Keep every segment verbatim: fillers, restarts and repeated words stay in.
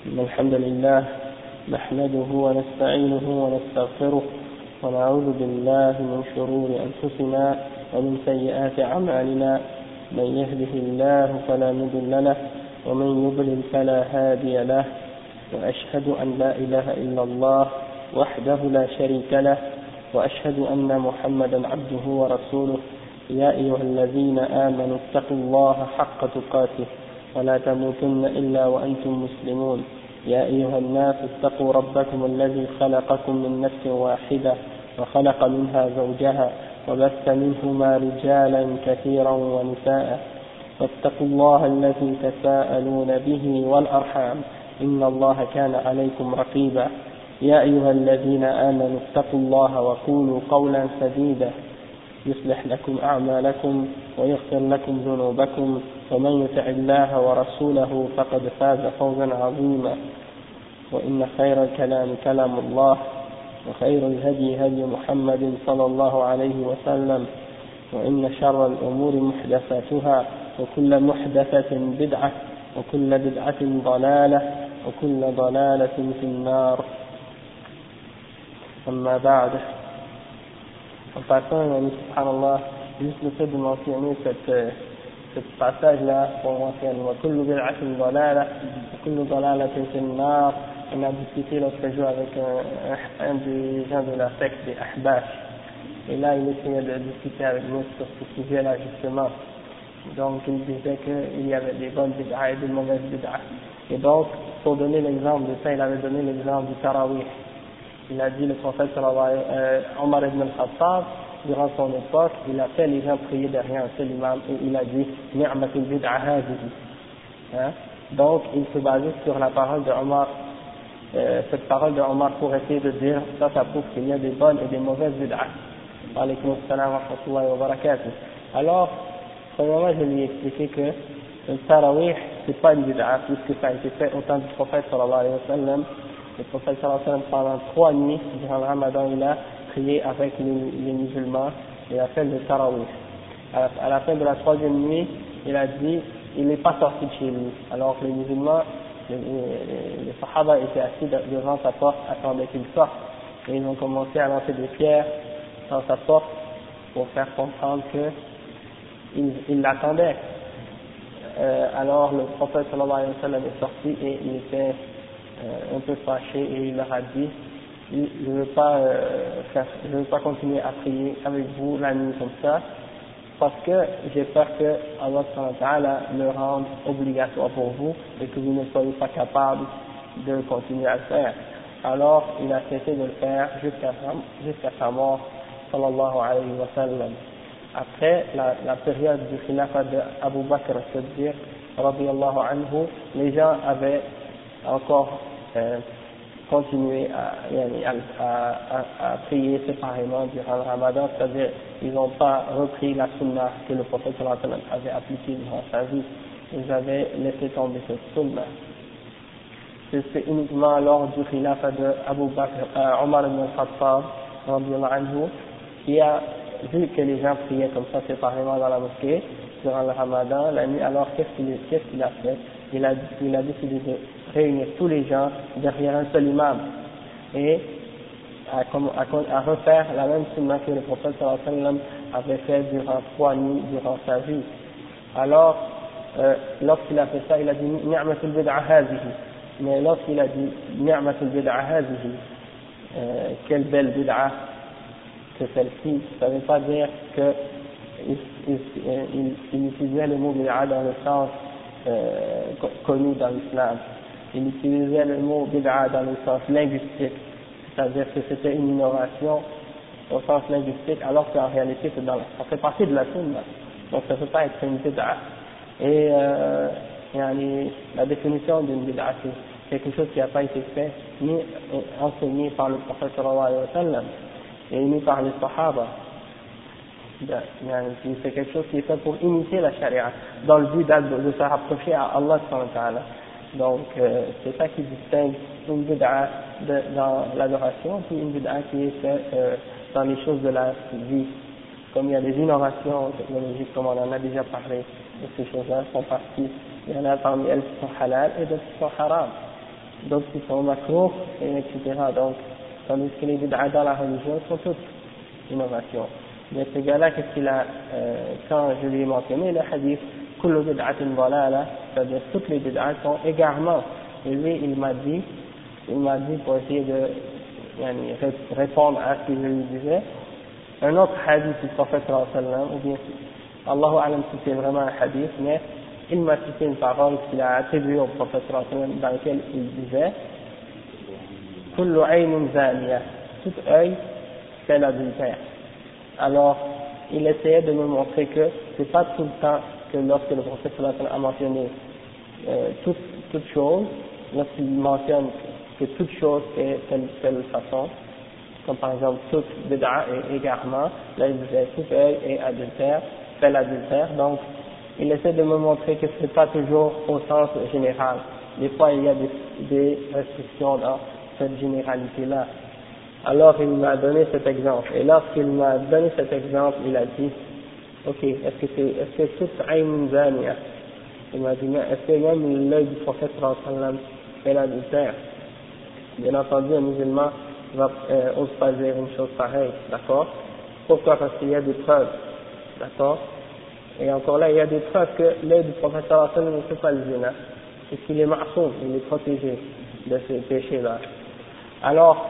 إن الحمد لله نحمده ونستعينه ونستغفره ونعوذ بالله من شرور أنفسنا ومن سيئات أعمالنا، من يهده الله فلا مضل له ومن يضلل فلا هادي له، وأشهد أن لا إله إلا الله وحده لا شريك له، وأشهد أن محمدا عبده ورسوله. يا أيها الذين آمنوا اتقوا الله حق تقاته ولا تموتن إلا وأنتم مسلمون. يا أيها الناس اتقوا ربكم الذي خلقكم من نفس واحدة وخلق منها زوجها وبث منهما رجالا كثيرا ونساء، واتقوا الله الذي تساءلون به والأرحام إن الله كان عليكم رقيبا. يا أيها الذين آمنوا اتقوا الله وقولوا قولا سديدا يصلح لكم أعمالكم ويغفر لكم ذنوبكم، ومن يطع الله ورسوله فقد فاز فوزا عظيما. وإن خير الكلام كلام الله، وخير الهدي هدي محمد صلى الله عليه وسلم، وإن شر الأمور محدثاتها، وكل محدثة بدعة، وكل بدعة ضلالة، وكل ضلالة في النار. أما بعد. En passant, subhanallah, juste le fait de mentionner cette, ce passage-là, on mentionne wa kullu bid'atin dalala, wa kullu dalalatin fin nar. On a discuté l'autre jour avec un, un des gens de la secte des Ahbash, et là il essayait de discuter avec nous sur ce sujet-là justement. Donc il disait qu'il y avait des bonnes bid'ah et des mauvaises bid'ah. Et donc, pour donner l'exemple de ça, il avait donné l'exemple du tarawih. Il a dit, le prophète sallallahu alayhi wa sallam, Omar ibn al-Khattab, durant son époque, il a fait les gens prier derrière un seul imam, et il a dit ni'matul bid'a hadihi. Hein? Donc il se basait sur la parole de Omar, euh, cette parole de Omar pour essayer de dire ça, ça prouve qu'il y a des bonnes et des mauvaises bid'ah. Alaykum assalam wa rahmatullahi wa barakatuh. Alors, premièrement, je lui ai expliqué que le tarawih, c'est pas une bid'ah, puisque ça a été fait au temps du prophète sallallahu alayhi wa sallam. Le prophète sallallahu alayhi wa sallam, pendant trois nuits, durant le ramadan, il a prié avec les, les musulmans, il a fait le tarawih. À la, à la fin de la troisième nuit, il a dit, il n'est pas sorti de chez lui. Alors les musulmans, les, les, les sahaba étaient assis devant sa porte, attendaient qu'il sorte. Et ils ont commencé à lancer des pierres dans sa porte pour faire comprendre qu'ils il l'attendaient. Euh, alors le prophète sallallahu alayhi wa sallam est sorti et il était Euh, un peu fâché, et il leur a dit, je ne veux pas euh, faire, je veux pas continuer à prier avec vous la nuit comme ça, parce que j'ai peur que Allah subhanahu wa ta'ala le rende obligatoire pour vous et que vous ne soyez pas capable de continuer à le faire. Alors il a cessé de le faire jusqu'à jusqu'à sa mort, sallallahu alayhi wa sallam. Après la, la période du khilafat d'Abu Bakr as-Siddiq radiyallahu anhu, les gens avaient encore euh, continué à, à, à, à prier séparément durant le ramadan, c'est-à-dire ils n'ont pas repris la sunna que le prophète sallallahu alayhi wa sallam avait appliquée durant sa vie, ils avaient laissé tomber cette sunna. C'est uniquement lors du khilafat de Abu Bakr, euh, Omar ibn al-Khattab radiyallahu anhu, qui a vu que les gens priaient comme ça séparément dans la mosquée durant le ramadan la nuit. Alors qu'est-ce qu'il qu'est-ce qu'il a fait? Il a, il a décidé de réunir tous les gens derrière un seul imam et à, à, à refaire la même sunna que le prophète sallallahu alayhi wa sallam avait fait durant trois nuits durant sa vie. Alors, euh, lorsqu'il a fait ça, il a dit ni'matul bid'a hadhihi. Mais lorsqu'il a dit ni'matul bid'a hadhihi, euh, quelle belle bid'a que celle-ci, ça ne veut pas dire que il, il, il, il utilisait le mot bid'a dans le sens Euh, connu dans l'islam. Il utilisait le mot bid'a dans le sens linguistique, c'est-à-dire que c'était une innovation au sens linguistique, alors qu'en réalité c'est dans la, ça fait partie de la sunna, donc ça ne peut pas être une bid'a. Et euh, la définition d'une bid'a, c'est quelque chose qui n'a pas été fait ni enseigné par le prophète sallallahu alayhi wa sallam et ni par les sahaba. C'est quelque chose qui est fait pour imiter la charia, dans le but de, de se rapprocher à Allah subhanahu wa ta'ala. Donc euh, c'est ça qui distingue une bid'a dans l'adoration, puis une bid'a qui est faite euh, dans les choses de la vie. Comme il y a des innovations technologiques, comme on en a déjà parlé, et ces choses-là font partie. Il y en a parmi elles qui sont halal et d'autres qui sont haram. d'autres qui sont makruh, et etc. Donc, tandis que les bid'a dans la religion sont toutes innovations. Mais ce gars-là, qu'est-ce qu'il a, euh, quand je lui ai mentionné le hadith, kullu bid'atin dalala, c'est-à-dire toutes les bid'as sont égarements. Et lui, il m'a dit, il m'a dit pour essayer de yani, répondre à ce que je lui disais, un autre hadith du prophète sallallahu alayhi wa sallam, ou bien, Allahu alam si c'est vraiment un hadith, mais il m'a cité une parole qu'il a attribuée au prophète sallallahu alayhi wa sallam, dans laquelle il disait, kullu aynin zaniya, tout œil fait l'adultère. Alors, il essayait de me montrer que c'est pas tout le temps que lorsque le prophète sallallahu alayhi wa sallam a mentionné euh, toute, toute chose, lorsqu'il mentionne que toute chose est telle telle façon, comme par exemple toute bid'a et égarement, là il disait tout œil est adultère, fait l'adultère, donc il essaie de me montrer que c'est pas toujours au sens général. Des fois il y a des, des restrictions dans cette généralité-là. Alors il m'a donné cet exemple, et lorsqu'il m'a donné cet exemple, il a dit, ok, est-ce que c'est, est-ce que tout ayn zaniya? Il m'a dit, mais est-ce que même l'œil du prophète sallallahu alayhi wa sallam fait l'adultère? Bien entendu, un musulman va, euh, ose pas dire une chose pareille, d'accord? Pourquoi? Parce qu'il y a des preuves, d'accord? Et encore là, il y a des preuves que l'œil du prophète sallallahu alayhi wa sallam ne fait pas le zina, puisqu'il est ma'soum, il est protégé de ces péchés-là. Alors,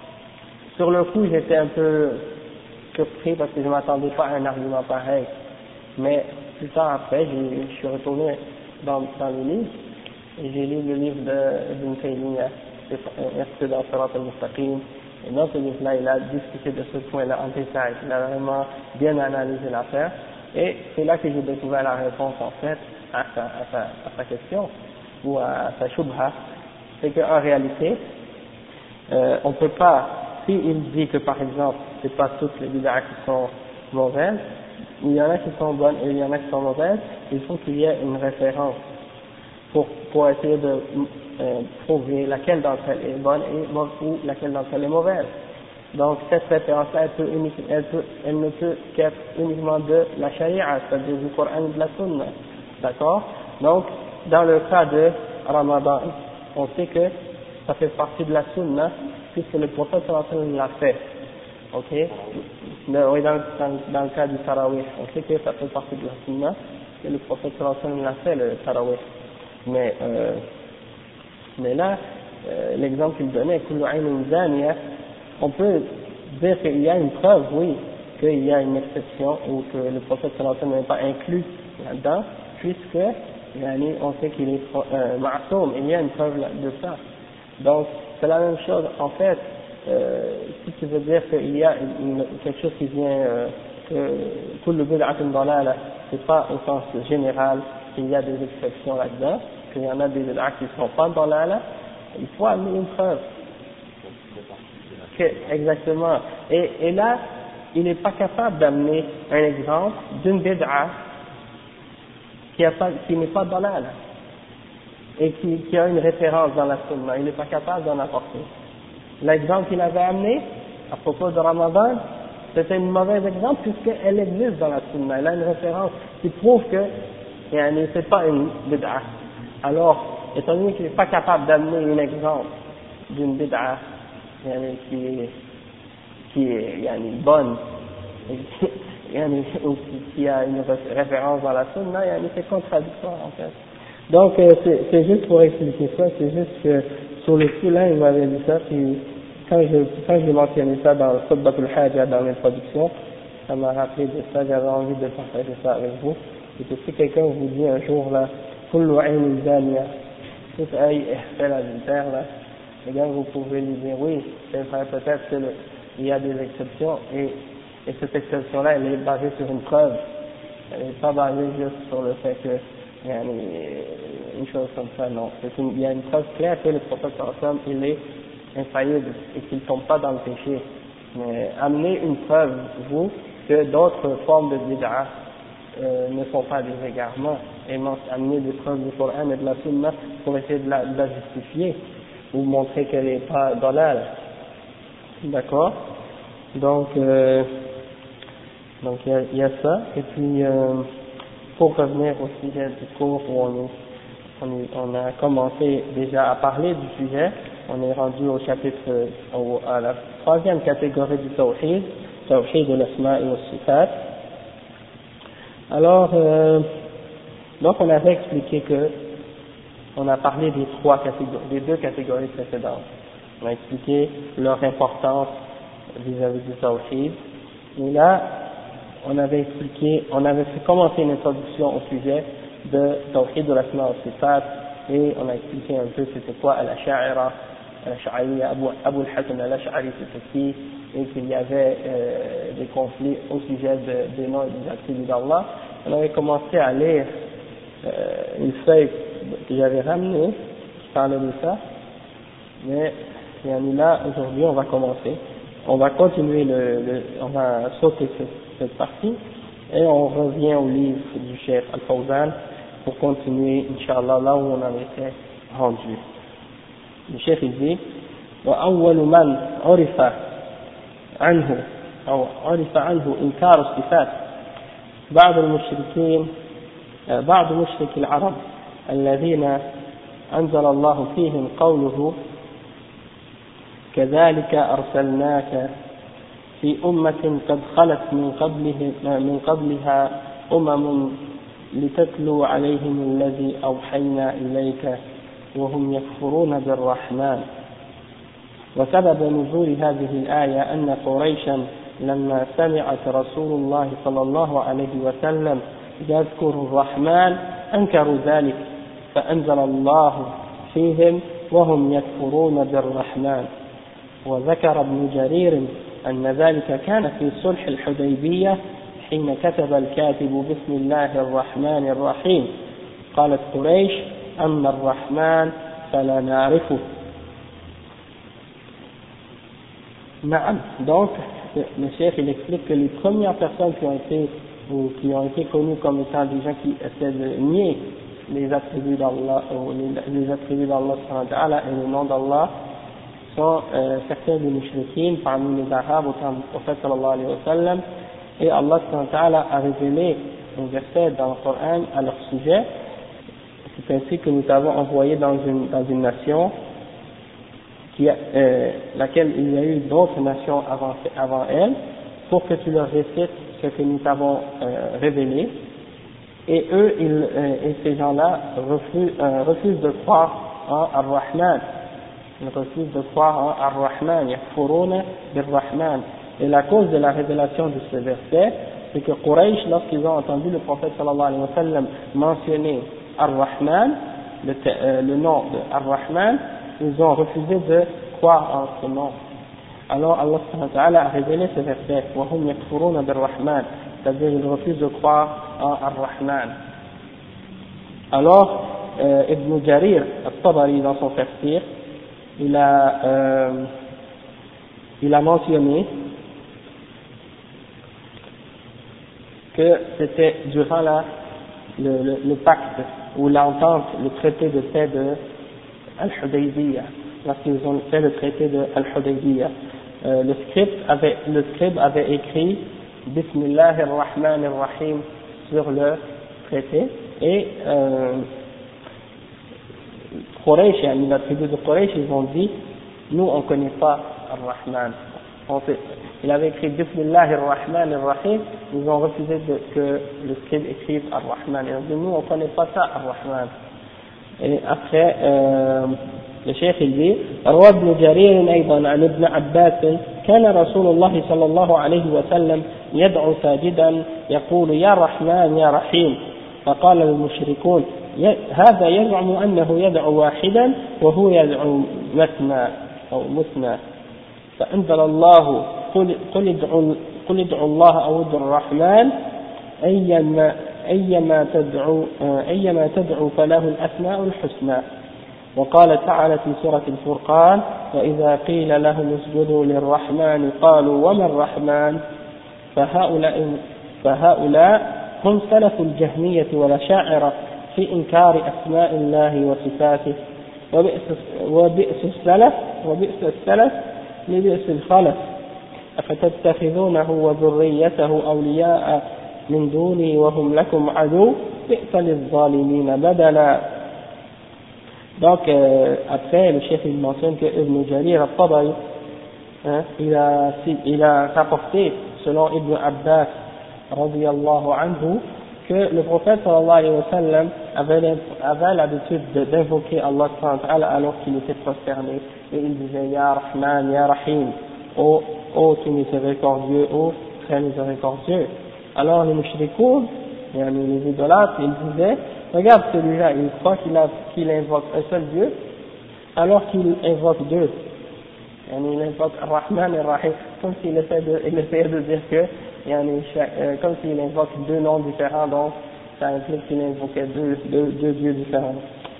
sur le coup, j'étais un peu surpris parce que je ne m'attendais pas à un argument pareil. Mais plus tard après, je suis retourné dans, dans les livres et j'ai lu le livre d'Ibn Taymiyyah, c'est dans Sirat al-Mustaqim. Et dans ce livre-là, il a discuté de ce point-là en détail. Il a vraiment bien analysé l'affaire. Et c'est là que j'ai découvert la réponse en fait à sa, à sa, à sa question ou à sa shubha. C'est qu'en réalité, euh, on ne peut pas. Si il dit que par exemple, c'est pas toutes les bid'ah qui sont mauvaises, il y en a qui sont bonnes et il y en a qui sont mauvaises, il faut qu'il y ait une référence pour, pour essayer de euh, prouver laquelle d'entre elles est bonne et, ou laquelle d'entre elles est mauvaise. Donc cette référence-là, elle, peut unique, elle, peut, elle ne peut qu'être uniquement de la charia, c'est-à-dire du Coran et de la Sunna. D'accord? Donc, dans le cas de Ramadan, on sait que ça fait partie de la Sunna, puisque le prophète sallallahu alayhi wa sallam l'a fait. Ok? Le, oui, dans, dans, dans le cas du Tarawih, on sait que ça fait partie de la Sunna, que le prophète sallallahu alayhi wa sallam l'a fait, le Tarawih. Mais, euh, mais là, euh, l'exemple qu'il donnait, kullu aynin zaniya, on peut dire qu'il y a une preuve, oui, qu'il y a une exception, ou que le prophète sallallahu alayhi wa sallam n'est pas inclus là-dedans, puisque, yani, on sait qu'il est euh, ma'soum, il y a une preuve de ça. Donc, c'est la même chose, en fait, euh, si tu veux dire qu'il y a une, quelque chose qui vient, euh, que tout le bid'atun dalala, c'est pas au sens général, qu'il y a des exceptions là-dedans, qu'il y en a des bid'ats qui ne sont pas dalala, il faut amener une preuve. Que, exactement. Et, et là, il n'est pas capable d'amener un exemple d'une bid'a qui, a pas, qui n'est pas dalala et qui, qui a une référence dans la sunna. Il n'est pas capable d'en apporter. L'exemple qu'il avait amené à propos de Ramadan, c'était un mauvais exemple puisqu'elle existe dans la sunna. Elle a une référence qui prouve que yani, c'est pas une bid'a. Alors, étant donné qu'il n'est pas capable d'amener un exemple d'une bid'a yani, qui est, qui est yani, bonne, yani, ou qui a une référence dans la sunna, yani, c'est contradictoire en fait. Donc, euh, c'est juste pour expliquer ça, c'est juste que sur le coup là, il m'avait dit ça, puis quand je, quand j'ai mentionné ça dans le Khutbatul Haja, dans l'introduction, ça m'a rappelé de ça, j'avais envie de partager ça avec vous. Et que si quelqu'un vous dit un jour là, Kullu aynin zaniya, tout œil fait l'adultère là, eh bien vous pouvez lui dire oui, c'est vrai, peut-être qu'il y a des exceptions, et, et cette exception-là, elle est basée sur une preuve. Elle n'est pas basée juste sur le fait que il y a une, une chose comme ça, non. Une, il y a une preuve claire que le prophète sallallahu il est infaillible et qu'il ne tombe pas dans le péché. Mais amenez une preuve, vous, que d'autres formes de bid'a euh, ne sont pas des égarements, et amener des preuves du Coran et de la Sunna pour essayer de la, de la justifier ou montrer qu'elle n'est pas dalal. D'accord? Donc, euh, donc il y, y a ça, et puis euh, pour revenir au sujet du cours où on est, on, on a commencé déjà à parler du sujet. On est rendu au chapitre, au, à la troisième catégorie du tawhid, tawhid de l'asma et wa sifat. Alors, euh, donc on avait expliqué que on a parlé des trois catégories, des deux catégories précédentes. On a expliqué leur importance vis-à-vis du tawhid. Et là, on avait expliqué, on avait fait commencer une introduction au sujet de tawhid de l'asma wa sifat, et on a expliqué un peu c'était quoi al-ash'ira, al-ash'ari, Abu, Abu al-Hasan al-Ash'ari c'était qui, et qu'il y avait euh, des conflits au sujet de, des noms et des attributs d'Allah. On avait commencé à lire euh, une feuille que j'avais ramenée qui parlait de ça, mais là aujourd'hui on va commencer, on va continuer le, le on va sauter cette, cette partie et on revient au livre du Cheikh Al-Fawzan pour continuer Inch'Allah là où on en était rendu. Le Cheikh il dit وأول من عرف عنه أو عرف عنه إنكار الصفات بعض المشركين بعض مشرك العرب الذين أنزل الله فيهم قوله كذلك أرسلناك في أمة قد خلت من قبله من قبلها أمم لتتلو عليهم الذي أوحينا إليك وهم يكفرون بالرحمن. وسبب نزول هذه الآية أن قريشا لما سمعت رسول الله صلى الله عليه وسلم يذكر الرحمن أنكروا ذلك فأنزل الله فيهم وهم يكفرون بالرحمن. وذكر ابن جرير أن ذلك كان في صلح الحديبية حين كتب الكاتب بسم الله الرحمن الرحيم. قالت قريش أما الرحمن فلا نعرفه. نعم. Donc le chef il explique que les premières personnes qui ont été ou qui ont été connues comme étant des gens qui essaient de nier les attributs d'Allah ou les, les attributs d'Allah et le nom d'Allah sont euh, certains des mushrikines parmi les Arabes au temps du prophète sallallahu alayhi wa sallam, et Allah a révélé un verset dans le Coran à leur sujet. C'est ainsi que nous t'avons envoyé dans une, dans une nation qui a, euh, laquelle il y a eu d'autres nations avant, avant elle, pour que tu leur récites ce que nous t'avons euh, révélé, et eux ils, euh, et ces gens-là refusent, euh, refusent de croire en Ar-Rahman. Ils refusent de croire en Ar-Rahman, yakfuruna bir-Rahman. Et la cause de la révélation de ce verset, c'est que Quraysh, lorsqu'ils ont entendu le prophète sallallahu alayhi wa sallam mentionner Ar-Rahman, le, euh, le nom de Ar-Rahman, ils ont refusé de croire en ce nom. Alors Allah subhanahu wa ta'ala a révélé ce verset, وَهُمْ يَكْفُرُونَ بِالرَّحْمَنِ, c'est-à-dire ils refusent de croire en Ar-Rahman. Alors, euh, Ibn Jarir al-Tabari dans son tafsir, il a, euh, il a mentionné que c'était durant la, le, le, le pacte ou l'entente, le traité de paix de Al-Hudaybiyah, lorsqu'ils ont fait le traité de Al-Hudaybiyah. Euh, le scribe avait, le scribe avait écrit Bismillahir Rahmanir Rahim sur le traité, et euh, Quraysh, la tribu de Quraysh, ils ont dit, nous on ne connaît pas Ar-Rahman. Il avait écrit Bismillahir Rahmanir Rahim, ils ont refusé de, que le scribe écrive Ar-Rahman. Ils ont dit, nous on ne connaît pas ça Ar-Rahman. Et après, euh, le cheikh il dit, روى ابن جرير أيضا عن ابن عباس كان رسول الله صلى الله عليه وسلم يدعو ساجدا يقول يا رحمن يا رحيم. فقال المشركون هذا يزعم أنه يدعو واحدا وهو يدعو مثنى أو مثنى. فأنزل الله قل, قل, ادعوا, قل ادعوا الله أو ادعوا الرحمن أيما, أيما, تدعو, أيما تدعو فله الأسماء الحسنى. وقال تعالى في سورة الفرقان وإذا قيل لهم اسجدوا للرحمن قالوا وما الرحمن. فهؤلاء, فهؤلاء هم سلف الجهمية والأشاعرة في إنكار أسماء الله وصفاته. وبئس, وبئس السلف وبئس السلف لبئس الخلف. أفتتخذونه وذريته أولياء من دوني وهم لكم عدو بئس للظالمين بدلا. Donc, euh, après, le chef il mentionne que Ibn Jarir al-Tabari, hein, il a, il a rapporté, selon Ibn Abbas, radiyallahu anhu, que le prophète sallallahu alayhi wa sallam avait, avait l'habitude d'invoquer Allah subhanahu wa ta'ala alors qu'il était prosterné, et il disait Ya Rahman, Ya Rahim, ô, ô tout miséricordieux, ô très miséricordieux. Alors les mushrikoun, les idolâtres, ils disaient, regarde celui-là, il croit qu'il a, qu'il invoque un seul Dieu, alors qu'il invoque deux. Il invoque Rahman et Rahim, comme s'il essayait de, il essayait de dire que, comme s'il invoque deux noms différents, donc ça implique qu'il invoquait deux, deux, deux dieux différents.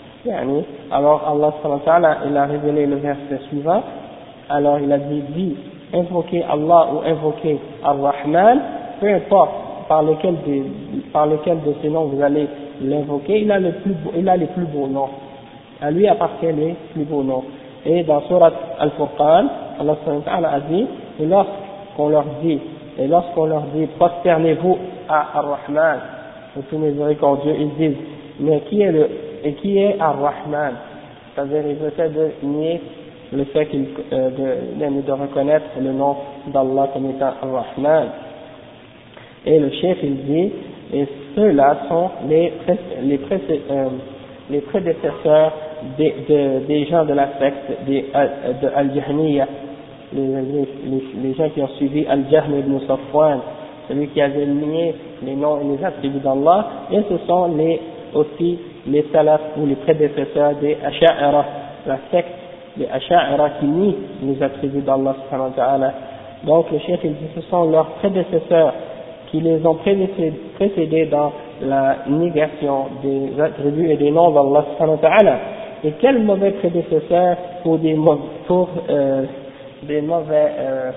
Alors Allah subhanahu wa ta'ala, il a révélé le verset suivant, alors il a dit, dit invoquer Allah ou invoquer Ar-Rahman, peu importe par lequel de, par lequel de ces noms vous allez l'invoquer, il a le plus beau, il a les plus beaux noms. À lui appartient les plus beaux noms. Et dans Surat Al-Furqan, Allah subhanahu wa ta'ala a dit, et lorsqu'on leur dit, et lorsqu'on leur dit, prosternez-vous à Ar-Rahman, au tout miséricordieux, ils disent, mais qui est le, et qui est Ar-Rahman? C'est-à-dire, ils essaient de nier le fait qu'il, euh, de, de reconnaître le nom d'Allah comme étant Ar-Rahman. Et le chef il dit, et ceux-là sont les, les, euh, les prédécesseurs des, de, des gens de la secte des, de Al-Jahmiya, les, les, les gens qui ont suivi Al-Jahm ibn Safwan, celui qui avait nié les noms et les attributs d'Allah, et ce sont les, aussi les salaf ou les prédécesseurs des Asha'ira, la secte des Asha'ira qui nie les attributs d'Allah subhanahu wa ta'ala. Donc le chef il dit, ce sont leurs prédécesseurs qui les ont précédés dans la négation des attributs et des noms d'Allah subhanahu wa ta'ala. Et quel mauvais prédécesseur pour des, pour, euh, des mauvais, euh,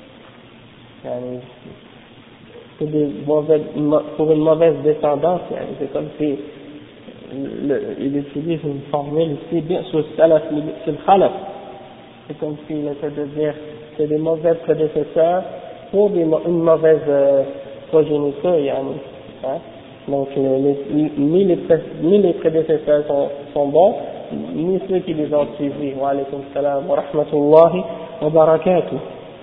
pour, des mauvais, pour une mauvaise descendance, c'est comme si le, il utilise une formule ici, bien sur le salaf, sur le khalaf. C'est comme s'il essaie de dire c'est des mauvais prédécesseurs pour des, une mauvaise euh, progéniture, hein. Donc les, les, ni, les, ni les prédécesseurs sont, sont bons, ni ceux qui les ont suivis. Wa alaykum salam wa rahmatullahi wa barakatuh.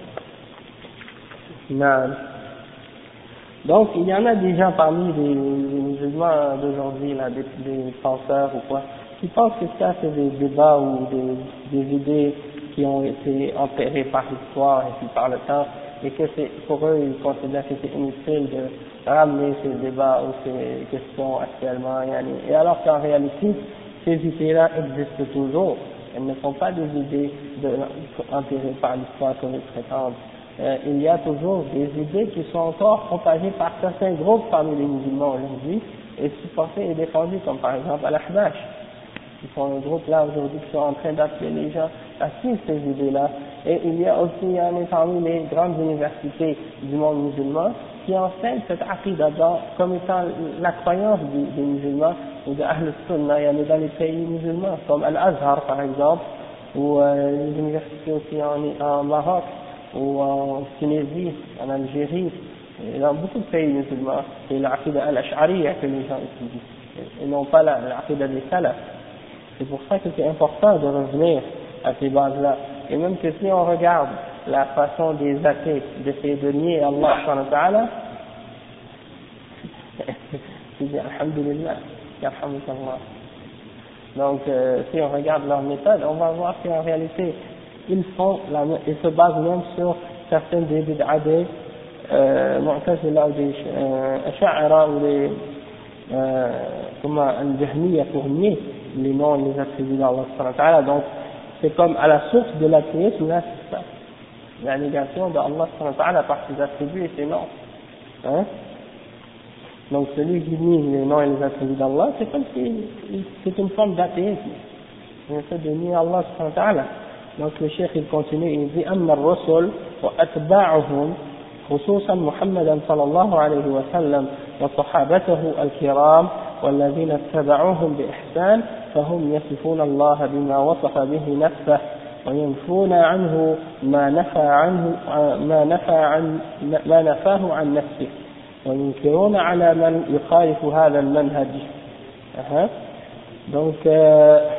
Naam. Donc il y en a des gens parmi les, les musulmans d'aujourd'hui, là, des, des penseurs ou quoi, qui pensent que ça c'est des débats ou des, des idées qui ont été enterrées par l'histoire et puis par le temps, et que c'est, pour eux, ils considèrent que c'est inutile de ramener ces débats ou ces questions actuellement, et alors qu'en réalité, ces idées-là existent toujours. Elles ne sont pas des idées de, enterrées par l'histoire comme ils prétendent. Euh, il y a toujours des idées qui sont encore propagées par certains groupes parmi les musulmans aujourd'hui et supportées et défendues, comme par exemple Al-Ahbash. Ils sont un groupe là aujourd'hui qui sont en train d'appeler les gens à suivre ces idées-là. Et il y a aussi il y en a parmi les grandes universités du monde musulman qui enseignent cette aqidah comme étant la croyance des, des musulmans ou de Ahl Sunnah. Il y en a dans les pays musulmans comme Al-Azhar par exemple, ou euh, les universités aussi en, en Maroc, ou en Tunisie, en Algérie, et dans beaucoup de pays musulmans. C'est l'aqidah al-Ash'ariyya que les gens étudient, et non pas l'aqidah des salaf. C'est pour ça que c'est important de revenir à ces bases-là. Et même que si on regarde la façon des athées d'essayer de nier Allah subhanahu wa ta'ala, tu dis alhamdulillah, yarhamukallah. Donc euh, si on regarde leur méthode, on va voir qu'en réalité, ils font la, ils se basent même sur certaines des bid'a des euh, Mu'tazila ou des euh, Asha'ira ou des euh, comment Al-Jahmiya pour nier les noms et les attributs d'Allah subhanahu wa ta'ala. Donc c'est comme à la source de l'athéisme, là c'est ça, la négation d'Allah subhanahu wa ta'ala par ses attributs et ses noms, hein. Donc celui qui nie les noms et les attributs d'Allah, c'est comme si c'est une forme d'athéisme, il essaie de nier Allah subhanahu wa ta'ala. Donc le cheikh il continue, il dit أما الرسل وأتباعهم خصوصا محمدا صلى الله عليه وسلم وصحابته الكرام والذين اتبعوهم بإحسان فهم يصفون الله بما وصف به نفسه وينفون عنه ما نفى عنه ما نفى عن ما نفاه عن نفسه وينكرون على من يخالف هذا المنهج. Donc euh,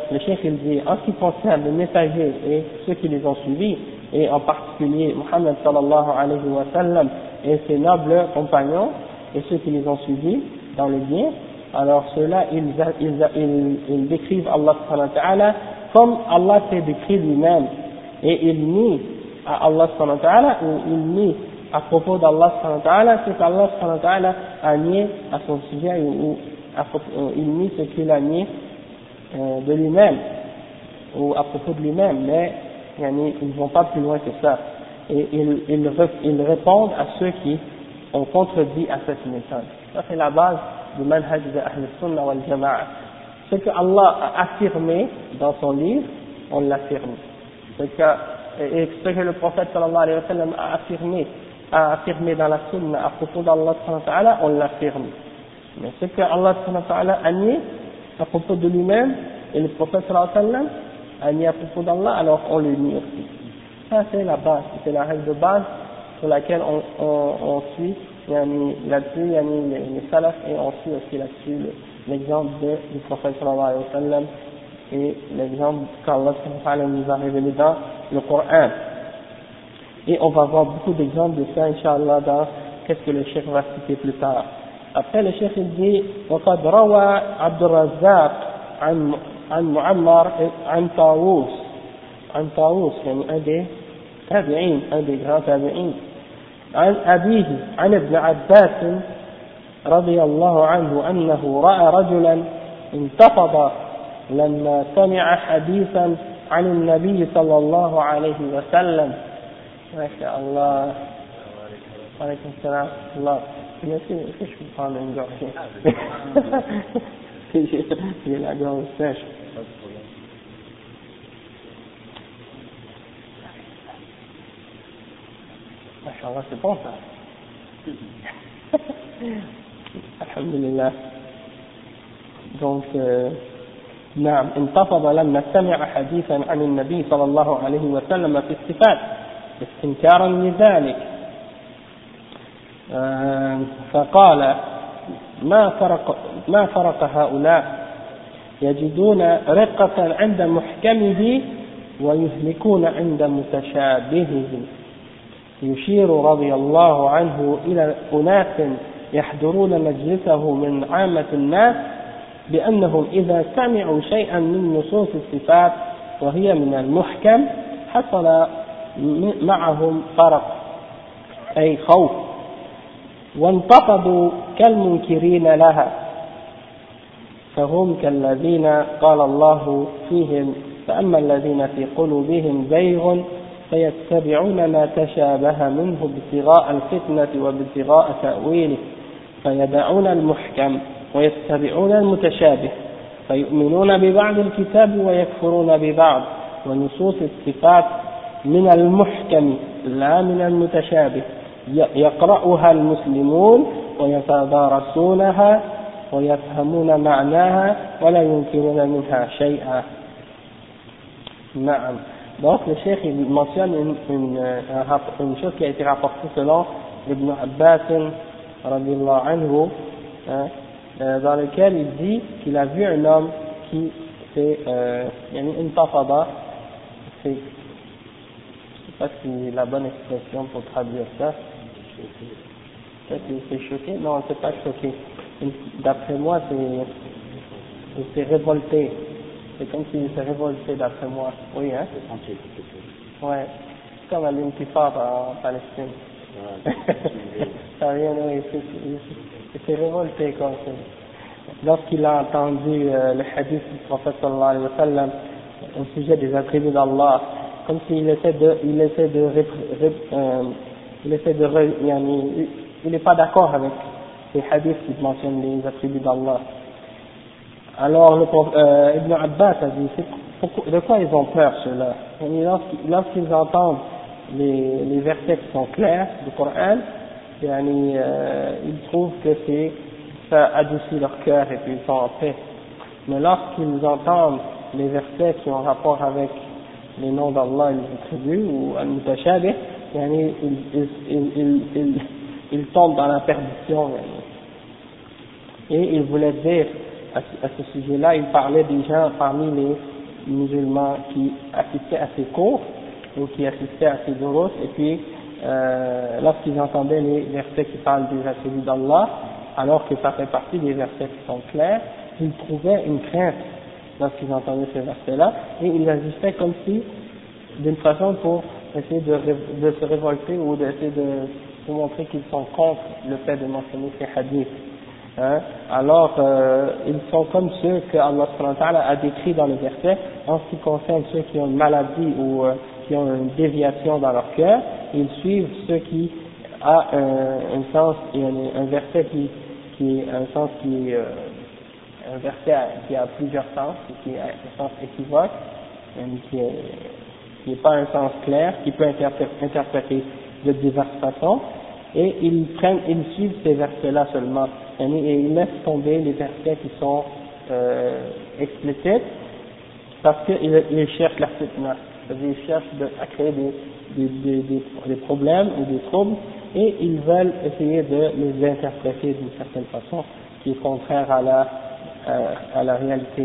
le cheikh il dit, en ce qui concerne les messagers et ceux qui les ont suivis, et en particulier Muhammad sallallahu alayhi wa sallam et ses nobles compagnons, et ceux qui les ont suivis dans le bien, alors ceux-là, ils, ils, ils, ils décrivent Allah subhanahu wa ta'ala comme Allah s'est décrit lui-même, et ils nient à Allah subhanahu wa ta'ala, ou ils nient à propos d'Allah subhanahu wa ta'ala, ce qu'Allah subhanahu wa ta'ala a nié à son sujet, ou, ou à, il nie ce qu'il a nié euh, de lui-même, ou à propos de lui-même, mais yani, ils ne vont pas plus loin que ça. Et ils, ils, ils répondent à ceux qui ont contredit à cette méthode. Ça c'est la base du manhaj de Ahl Sunnah wal Jama'a. Ce que Allah a affirmé dans son livre, on l'affirme. Ce que, et ce que le prophète sallallahu alayhi wa sallam a affirmé, a affirmé dans la Sunna à propos d'Allah subhanahu wa ta'ala, on l'affirme. Mais ce que Allah subhanahu wa ta'ala a nié à propos de lui-même, et le prophète sallallahu alayhi wa sallam a nié à propos d'Allah, alors on le nie aussi. Ça c'est la base, c'est la règle de base sur laquelle on, on, on suit yani, là-dessus, yani, les, les salafs, et on suit aussi là-dessus l'exemple du prophète sallallahu alayhi wa sallam et l'exemple qu'Allah subhanahu wa ta'ala nous a révélé dans le Coran. Et on va voir beaucoup d'exemples de ça, Inch'Allah, dans qu'est-ce que le cheikh va citer plus tard. Après, le cheikh il dit وقد روى عبد الرزاق عن عن معمر عن طاووس عن طاووس يعني un des تابعين un des grands تابعين عن أبيه عن ابن عباس رضي الله عنه أنه رأى رجلا انتفض لما سمع حديثا عن النبي صلى الله عليه وسلم. ما شاء الله. وعليكم السلام ورحمة الله. Est-ce que je peux prendre une gorgée? J'ai la gorge sèche. Masha'Allah, c'est bon ça. Alhamdulillah. Donc, euh, نعم انتفض لما سمع حديثا عن النبي صلى الله عليه وسلم في الصفات استنكارا لذلك آه فقال ما فرق ما فرق هؤلاء يجدون رقة عند محكمه ويهلكون عند متشابهه يشير رضي الله عنه إلى أناس يحضرون مجلسه من عامة الناس بأنهم إذا سمعوا شيئا من نصوص الصفات وهي من المحكم حصل معهم فرق أي خوف وانتقضوا كالمنكرين لها فهم كالذين قال الله فيهم فأما الذين في قلوبهم زيغ فيتبعون ما تشابه منه ابتغاء الفتنة وابتغاء تأويله فيدعون المحكم ويتبعون المتشابه فيؤمنون ببعض الكتاب ويكفرون ببعض ونصوص الصفات من المحكم لا من المتشابه يقرأها المسلمون ويتدارسونها ويفهمون معناها ولا ينكرون منها شيئا. نعم. Donc le cheikh il mentionne une, une, une chose qui a été rapportée selon Ibn Abbas radiyallahu anhu, hein, dans lequel il dit qu'il a vu un homme qui c'est euh, une tafada, c'est, je ne sais pas si c'est la bonne expression pour traduire ça. Peut-être qu'il s'est choqué, non c'est pas choqué, d'après moi c'est il s'est révolté, c'est comme s'il s'est révolté d'après moi, oui hein, ouais, comme à l'intifada en Palestine, ça vient, oui, il s'est révolté comme ça. Lorsqu'il a entendu euh, le hadith du prophète sallallahu alayhi wa sallam au sujet des attributs d'Allah, comme s'il essaie de, il essaie de, euh, il essaie de, il n'est pas d'accord avec ces hadiths qui mentionnent les attributs d'Allah. Alors le euh, Ibn Abbas a dit, pourquoi, de quoi ils ont peur ceux-là? Lorsqu'ils entendent les, les versets qui sont clairs du Coran, yani, euh, ils trouvent que c'est ça adoucit leur cœur et puis ils sont en paix. Mais lorsqu'ils entendent les versets qui ont rapport avec les noms d'Allah et les attributs ou al-mutashabih, yani, ils, ils, ils, ils, ils, ils tombent dans la perdition. Yani. Et il voulait dire à, à ce sujet-là, il parlait des gens parmi les musulmans qui assistaient à ces cours, ou qui assistaient à ces durus, et puis euh, lorsqu'ils entendaient les versets qui parlent des attributs d'Allah, alors que ça fait partie des versets qui sont clairs, ils trouvaient une crainte lorsqu'ils entendaient ces versets-là, et ils agissaient comme si, d'une façon pour essayer de, de se révolter ou d'essayer de, de montrer qu'ils sont contre le fait de mentionner ces hadiths. Hein? Alors, euh, ils sont comme ceux que Allah subhanahu wa ta'ala a décrits dans le verset en ce qui concerne ceux qui ont une maladie ou euh, qui ont une déviation dans leur cœur, ils suivent ceux qui ont un, un sens, un, un verset qui, qui est un sens qui euh, un verset qui a plusieurs sens, qui a un sens équivoque, qui est, qui n'est pas un sens clair, qui peut être interprété de diverses façons, et ils prennent, ils suivent ces versets-là seulement, et ils laissent tomber les versets qui sont euh, explicites, parce qu'ils ils cherchent la fitna, c'est-à-dire ils cherchent de, à créer des, des, des, des, des problèmes ou des troubles, et ils veulent essayer de les interpréter d'une certaine façon, qui est contraire à la, à, à la réalité.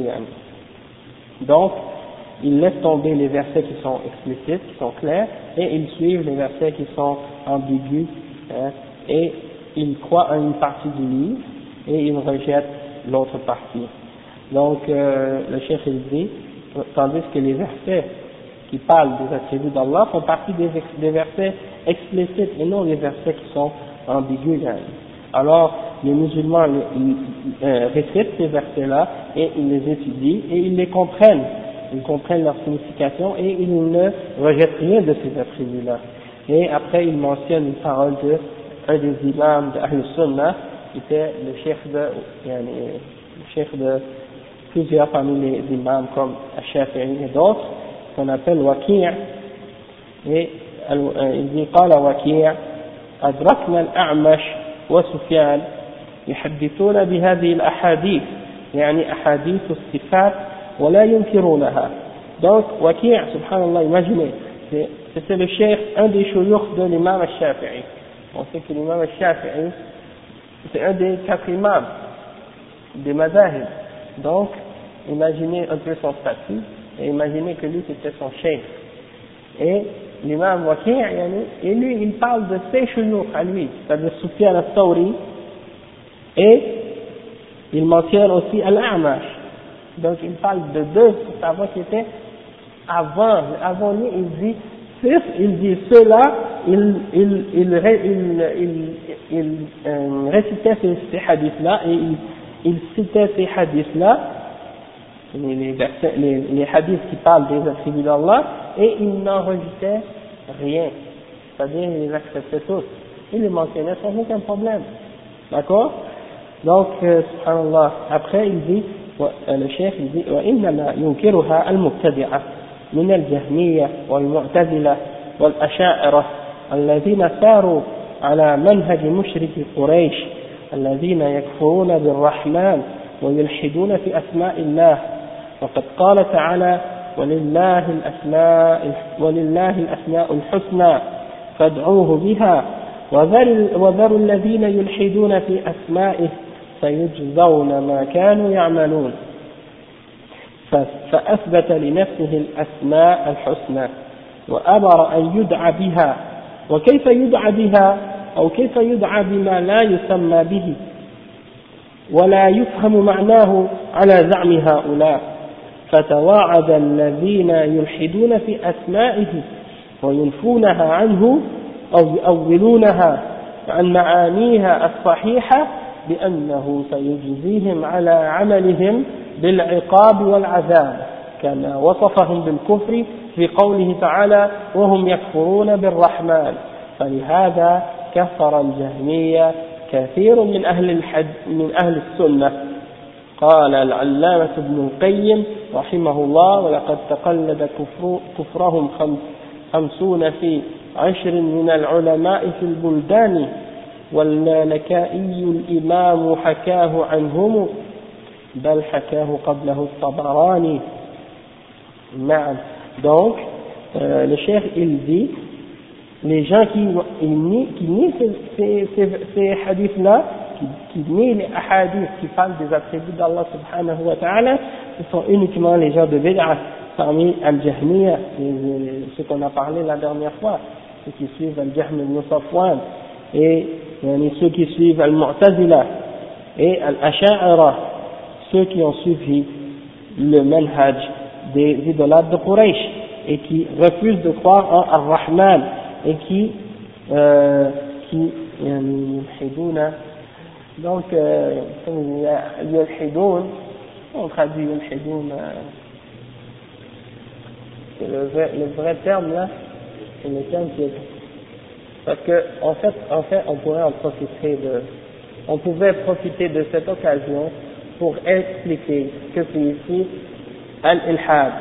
Donc, ils laissent tomber les versets qui sont explicites, qui sont clairs, et ils suivent les versets qui sont ambigus, hein, et ils croient à une partie du livre, et ils rejettent l'autre partie. Donc, euh, le chef il dit, tandis que les versets qui parlent des attributs d'Allah font partie des, des versets explicites, et non les versets qui sont ambigus. Hein. Alors, les musulmans ils, euh, récitent ces versets-là, et ils les étudient, et ils les comprennent. Ils comprennent leur signification et ils ne rejettent rien de ces attributs-là. Et après, il mentionne une parole de un des imams de Ahl Sunnah, qui était le chef de, le chef de plusieurs parmi les imams comme Al-Shafi'i et d'autres, qu'on appelle Waki'. Et il dit, قال وكيع أدركنا الأعمش وسفيان يحدثون بهذه الأحاديث يعني أحاديث الصفات ولا ينكرونها. Donc, Waki', subhanallah, imaginez, c'était le cheikh, un des shuyukh de l'imam al-Shafi'i. On sait que l'imam al-Shafi'i, c'est un des quatre imams des madahib. Donc, imaginez un peu son statut, et imaginez que lui c'était son cheikh. Et l'imam Waki', et lui, il parle de ses shuyukh à lui, c'est-à-dire Sufyan al-Thawri, et il mentionne aussi al-A'mash. Donc il parle de deux savants qui étaient avant, avant lui, il dit, il dit ceux-là, ils il, il, il, il, il, euh, récitaient ces, ces hadiths-là, et ils il citaient ces hadiths-là, les, les, les, les hadiths qui parlent des attributs d'Allah, et ils n'enregistraient rien, c'est-à-dire ils les acceptaient tous, ils les mentionnaient sans aucun problème, d'accord? Donc, euh, subhanallah, après il dit, le chef dit وإنما ينكرها المبتدعة من الجهمية والمعتزلة والأشاعرة الذين ساروا على منهج مشرك قريش الذين يكفرون بالرحمن ويلحدون في أسماء الله وقد قال تعالى ولله الأسماء ولله الأسماء الحسنى فادعوه بها وذروا الذين يلحدون في أسمائه سيجزون ما كانوا يعملون فأثبت لنفسه الأسماء الحسنى وأمر أن يدعى بها وكيف يدعى بها أو كيف يدعى بما لا يسمى به ولا يفهم معناه على زعم هؤلاء فتواعد الذين يلحدون في أسمائه وينفونها عنه أو يؤولونها عن معانيها الصحيحة بأنه سيجزيهم على عملهم بالعقاب والعذاب كما وصفهم بالكفر في قوله تعالى وهم يكفرون بالرحمن فلهذا كفر الجهمية كثير من أهل الحد من أهل السنة. قال العلامة ابن القيم رحمه الله ولقد تقلد كفر كفرهم خمسون في عشر من العلماء في البلدان واللالكائي الإمام حكاه عنهم بل حكاه قبله الطبراني. نعم. Donc euh, le cheikh il dit les gens qui nient qui nient ces, ces, ces, ces hadiths là qui, qui nient les hadiths qui parlent des attributs d'Allah subhanahu wa ta'ala, ce sont uniquement les gens de bid'ah parmi Al-Jahmiya, ce qu'on a parlé la dernière fois, ceux qui suivent Al-Jahm ibn Safwan, et ceux qui suivent Al-Mu'tazila, et Al-Asha'ira, ceux qui ont suivi le manhaj des idolâtres de Quraysh, et qui refusent de croire en Ar-Rahman, et qui, euh, qui, donc, euh, comme il y a Yulhidoun, on traduit Yulhidoun, euh, c'est le vrai, le vrai terme là, c'est le terme qui est, parce que, en fait, en fait, on pourrait en profiter de, on pouvait profiter de cette occasion pour expliquer ce que c'est ici Al-Ilhad.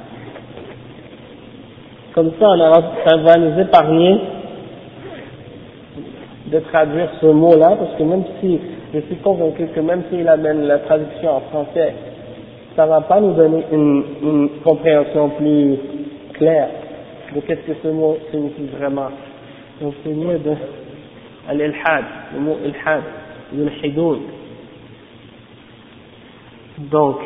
Comme ça, on a, ça va nous épargner de traduire ce mot-là, parce que même si, je suis convaincu que même s'il amène la traduction en français, ça va pas nous donner une, une compréhension plus claire de qu'est-ce que ce mot signifie vraiment. Donc c'est mieux de al-ilhad, le mot ilhad, yulhidoun. Donc,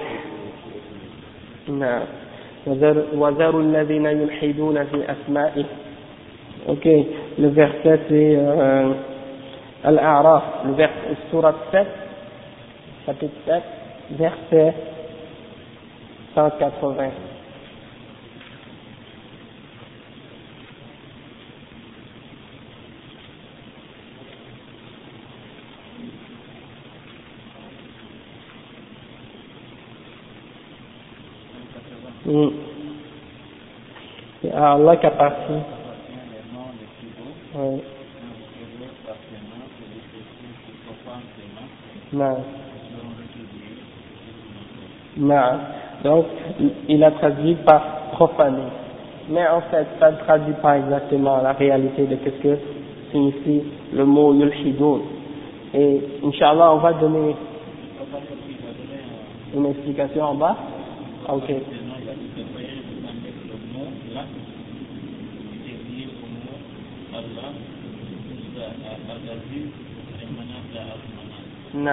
وَذَرُوا الَّذِينَ يُلْحِدُونَ فِي أَسْمَائِهِ. Ok, le verset c'est euh, Al-A'raf, le verset, surat sept, chapitre sept, verset cent quatre-vingts. Mm. C'est à Allah qu'appartient. Oui. Non. Non. Donc, il a traduit par profaner. Mais en fait, ça ne traduit pas exactement la réalité de ce que signifie le mot yulhidoun. Et, Inch'Allah, on va donner une explication en bas. Ok. Non.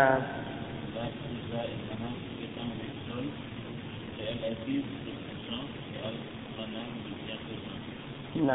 Non.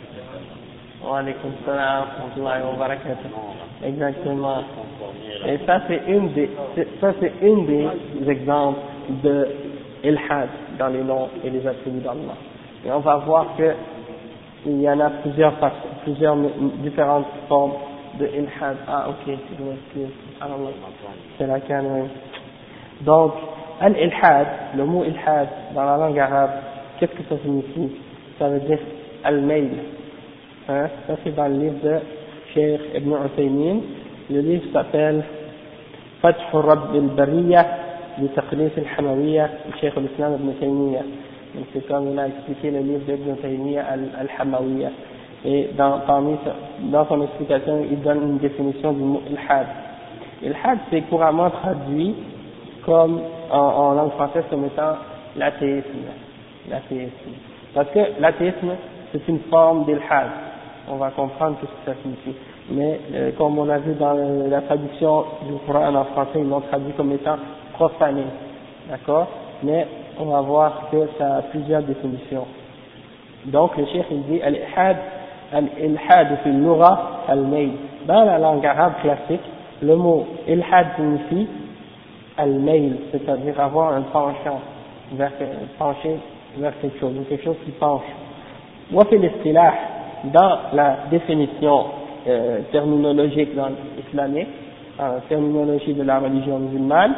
Wa alaykum salam wa rahmatullahi wa barakatuh. Exactement. Et ça c'est une des, ça c'est une des exemples de ilhad dans les noms et les attributs d'Allah. Et on va voir que il y en a plusieurs plusieurs différentes formes de ilhad. Ah ok, je m'excuse. C'est la canne. Donc, al-ilhad, le mot ilhad dans la langue arabe, qu'est-ce que ça signifie? Ça veut dire al-mail. Hein? Ça c'est dans le livre de Cheikh Ibn Uthaymin. Le livre s'appelle Fath Rabb al-Bariyah de Taqlis al-Hamawiyah de Cheikh al-Islam Ibn Taymiyyah. Donc c'est comme il a expliqué le livre d'Ibn Taymiyyah al-Hamawiyah. Et dans, parmi, dans son explication, il donne une définition du mot ilhad. Ilhad c'est couramment traduit comme en, en langue française comme étant l'athéisme. L'athéisme. Parce que l'athéisme c'est une forme d'ilhad. On va comprendre ce que ça signifie. Mais euh, comme on a vu dans le, la traduction du Coran en français, ils l'ont traduit comme étant profané. D'accord? Mais on va voir que ça a plusieurs définitions. Donc le cheikh il dit al-ilhad, al-ilhad fi al-lugha al-mail. Dans la langue arabe classique, le mot ilhad signifie al-mail, c'est-à-dire avoir un penchant vers, pencher vers quelque chose, ou quelque chose qui penche. Wa fi l'istilah, dans la définition euh, terminologique dans l'islamique, la terminologie de la religion musulmane,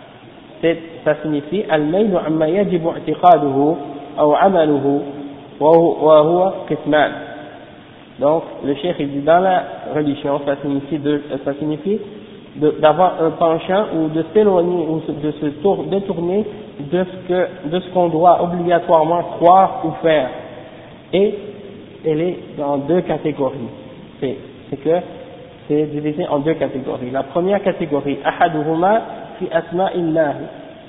ça signifie al-mayl amma yajibu i'tiqaduhu aw 'amaluhu wa huwa qisman. Donc le cheikh il dit dans la religion ça signifie de, ça signifie d'avoir un penchant ou de s'éloigner ou de se tour, détourner de ce que de ce qu'on doit obligatoirement croire ou faire. Et elle est dans deux catégories. C'est, c'est que c'est divisé en deux catégories. La première catégorie, ahaduhuma fi asma'illahi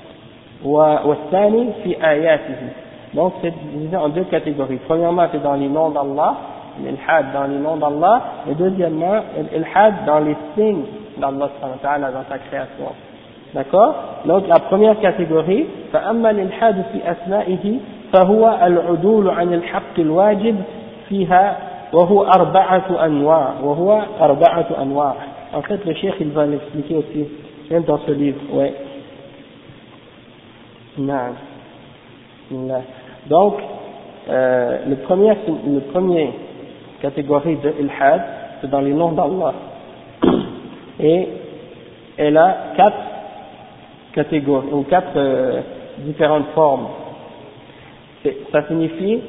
wa thani fi ayatihi. Donc c'est divisé en deux catégories. Premièrement, c'est dans les noms d'Allah, l'ilhad dans les noms d'Allah, et deuxièmement, l'ilhad dans les signes d'Allah dans sa création. D'accord? Donc la première catégorie, فأما الإلحاد في أسمائه فهو العدول عن الحق الواجب فيها وهو أربعة أنواع وهو أربعة أنواع. En fait, le cheikh il va l'expliquer aussi même dans ce livre. Ouais. Non. Non. Donc, euh, le premier, le premier catégorie de ilhad, c'est dans les noms d'Allah. Et elle a quatre catégories ou quatre euh, différentes formes. Ça signifie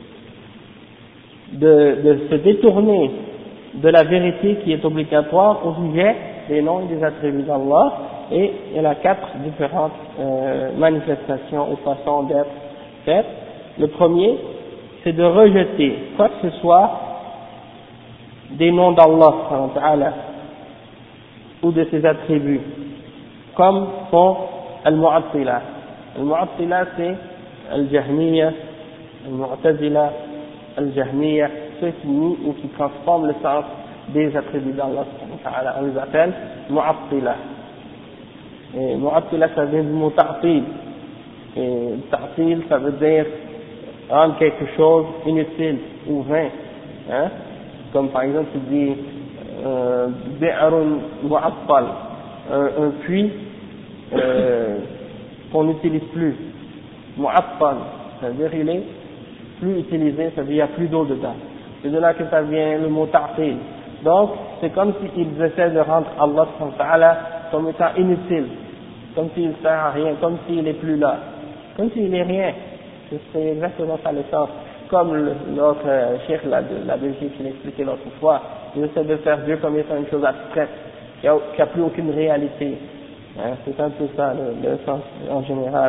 de, de se détourner de la vérité qui est obligatoire au sujet des noms et des attributs d'Allah, et il a quatre différentes euh, manifestations ou façons d'être faites. Le premier, c'est de rejeter quoi que ce soit des noms d'Allah ou de ses attributs, comme font al-Mu'attila. Al-Mu'attila, c'est al-Jahmiya, al-Mu'tazila, al-Jahmiya, ceux qui nient ou qui transforment le sens des attributs d'Allah. On les appelle Mu'attila. Et Mu'attila, ça vient du mot ta'til. Et ta'til, ça veut dire rendre quelque chose inutile ou vain. Hein? Comme par exemple, tu dis euh, bi'arun mu'attal, un, un puits euh, qu'on n'utilise plus. Mu'attal, ça veut dire il est plus utilisé, ça veut dire il n'y a plus d'eau dedans. C'est de là que ça vient le mot ta'til. Donc, c'est comme s'ils essaient de rendre Allah subhanahu wa ta'ala comme étant inutile, comme s'il ne sert à rien, comme s'il n'est plus là, comme s'il n'est rien. C'est exactement ça le sens. Comme notre euh, cheikh la, la Belgique qui l'expliquait l'autre fois, il essaie de faire Dieu comme étant une chose abstraite, qui n'a plus aucune réalité. Hein, c'est un peu ça le, le sens en général.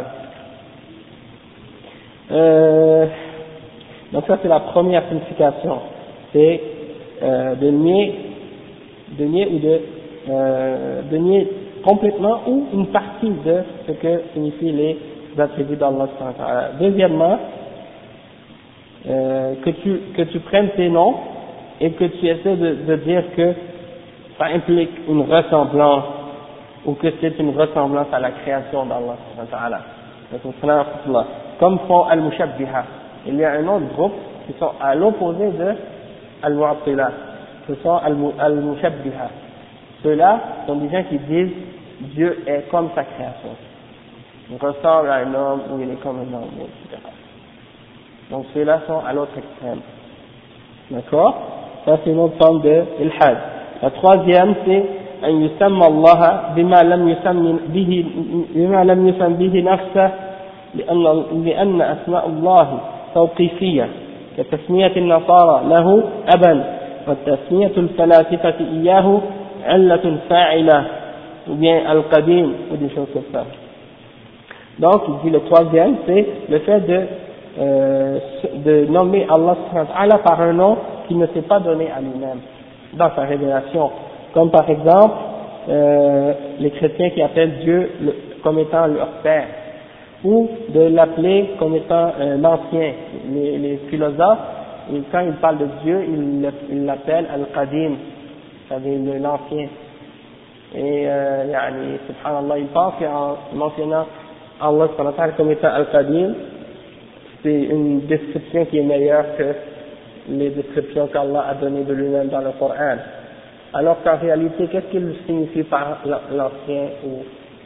Euh, donc ça c'est la première signification, c'est euh, de nier, de nier ou de, euh, de nier complètement ou une partie de ce que signifient les attributs d'Allah. Deuxièmement, euh, que tu que tu prennes tes noms et que tu essaies de, de dire que ça implique une ressemblance ou que c'est une ressemblance à la création d'Allah. Comme font Al-Mushabbiha. Il y a un autre groupe qui sont à l'opposé de Al-Mu'attila. Ce sont Al-Mushabbiha. Ceux-là sont des gens qui disent Dieu est comme sa création. Il ressemble à un homme ou il est comme un homme, et cetera. Donc ceux-là sont à l'autre extrême. D'accord? Ça c'est une autre forme de ilhad. La troisième c'est أن يسمى الله بما لم يسم به بما لم يسم به نفسه لأن لأن أسماء الله توقيفية كتسمية النصارى له أبا وتسمية الفلاسفة إياه علة فاعلة ou bien al-qadim ou des choses comme ça. Donc il dit le troisième c'est le fait de euh, de nommer Allah subhanahu wa ta'ala par un nom qu'il ne s'est pas donné à lui-même dans sa révélation. Comme par exemple, euh, les chrétiens qui appellent Dieu le, comme étant leur Père, ou de l'appeler comme étant euh, l'ancien. Les, les philosophes, et quand ils parlent de Dieu, ils l'appellent Al-Qadim, c'est-à-dire l'ancien. Et, euh, yani, subhanallah, ils pensent qu'en mentionnant Allah comme étant Al-Qadim, c'est une description qui est meilleure que les descriptions qu'Allah a données de lui-même dans le Coran. Alors qu'en réalité, qu'est-ce qu'il signifie par l'ancien ou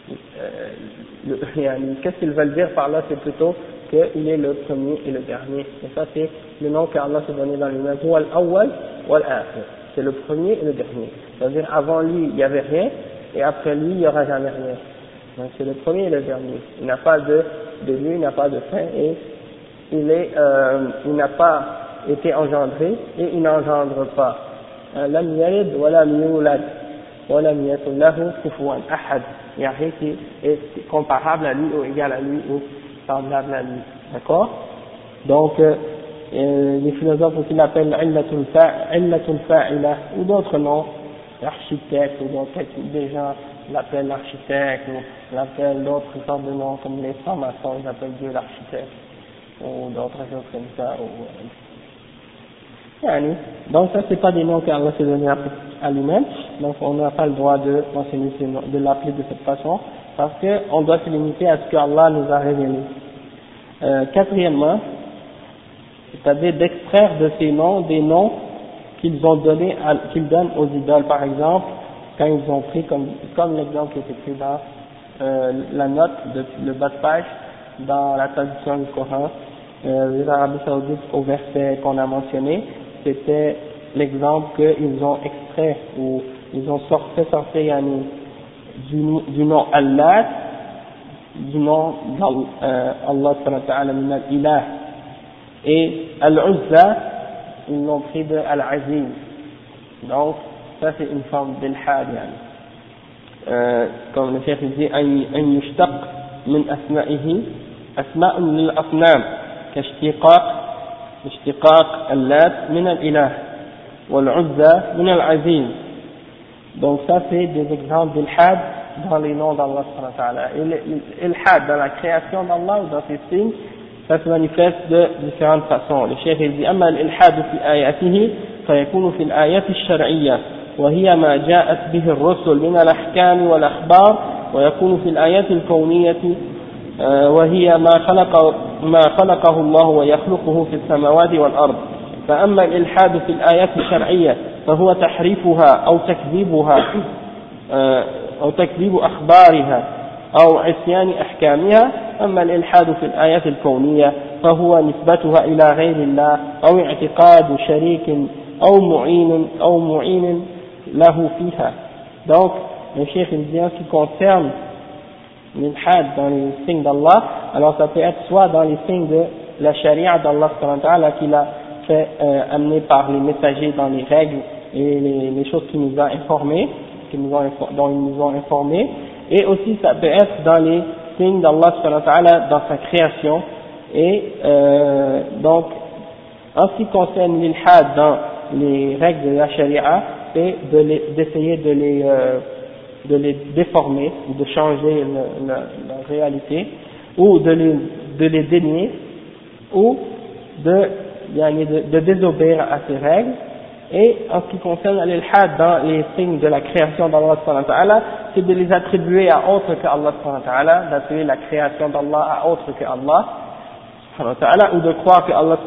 euh, qu'est-ce qu'ils veulent dire par là? C'est plutôt qu'il est le premier et le dernier. Et ça, c'est le nom qu'Allah s'est donné dans lui-même. Wal awwal wal akhir. C'est le premier et le dernier. C'est-à-dire, avant lui, il n'y avait rien, et après lui, il n'y aura jamais rien. Donc, c'est le premier et le dernier. Il n'a pas de début, il n'a pas de fin, et il est, euh, il n'a pas été engendré, et il n'engendre pas. لم يلد ولم يولد ولم يكن له كفوا أحد. Il n'y a rien qui est comparable à lui ou égal à lui ou semblable à lui. D'accord? Donc, euh, les philosophes aussi l'appellent Illatul Fa'ila ou d'autres noms, l'architecte ou d'autres, des gens l'appellent l'architecte ou l'appellent d'autres sortes de noms comme les francs-maçons, ils appellent Dieu l'architecte ou d'autres choses comme ça. Ou, donc ça c'est pas des noms qu'Allah s'est donné à lui-même, donc on n'a pas le droit de mentionner ces noms, de l'appeler de cette façon, parce qu'on doit se limiter à ce qu'Allah nous a révélé. Euh, quatrièmement, c'est-à-dire d'extraire de ces noms des noms qu'ils ont donnés, à, qu'ils donnent aux idoles, par exemple, quand ils ont pris comme, comme l'exemple qui est écrit dans euh, la note, de, le bas de page, dans la traduction du Coran, euh, les Arabes Saoudites au verset qu'on a mentionné, c'était l'exemple qu'ils ont extrait ou ils ont sorti, fait sortir yani, du, du nom Allah, du nom d'Allah Allah subhanahu wa ta'ala min al-ilah, et Al-Uzza ils l'ont pris de Al-Aziz. Donc ça c'est une forme d'ilhad yani. euh, comme le cheikh dit an yushtaq min asma'ihi asma'un lil asnam kashtiqaq اشتقاق اللات من الإله والعزى من العزيز. Donc ça c'est des exemples d'ilhad dans les noms d'Allah subhanahu wa ta'ala. Et l'ilhad dans la création d'Allah ou dans ses signes, ça se manifeste de différentes façons. Le cheikh dit أما الإلحاد في آياته فيكون في الآيات الشرعية وهي ما جاءت به الرسل من الأحكام والأخبار، ويكون في الآيات الكونية وهي ما خلق ما خلقه الله ويخلقه في السماوات والأرض. فأما الإلحاد في الآيات الشرعية فهو تحريفها أو تكذيبها أو تكذيب أخبارها أو عصيان أحكامها. أما الإلحاد في الآيات الكونية فهو نسبتها إلى غير الله أو اعتقاد شريك أو معين أو معين له فيها. Donc le cheikh il dit en ce qui concerne l'ilhad dans les signes d'Allah, alors ça peut être soit dans les signes de la charia d'Allah qu'il a fait euh, amener par les messagers dans les règles et les, les choses qu'il nous a informées, qui nous ont, dont ils nous ont informés, et aussi ça peut être dans les signes d'Allah dans sa création. Et euh, donc en ce qui concerne l'ilhad dans les règles de la charia, c'est d'essayer de, de les euh, de les déformer, ou de changer le, la, la réalité, ou de les, de les dénier, ou de, de, de désobéir à ces règles. Et en ce qui concerne l'ilhad dans les signes de la création d'Allah, c'est de les attribuer à autre que Allah, d'attribuer la création d'Allah à autre que Allah, ou de croire que Allah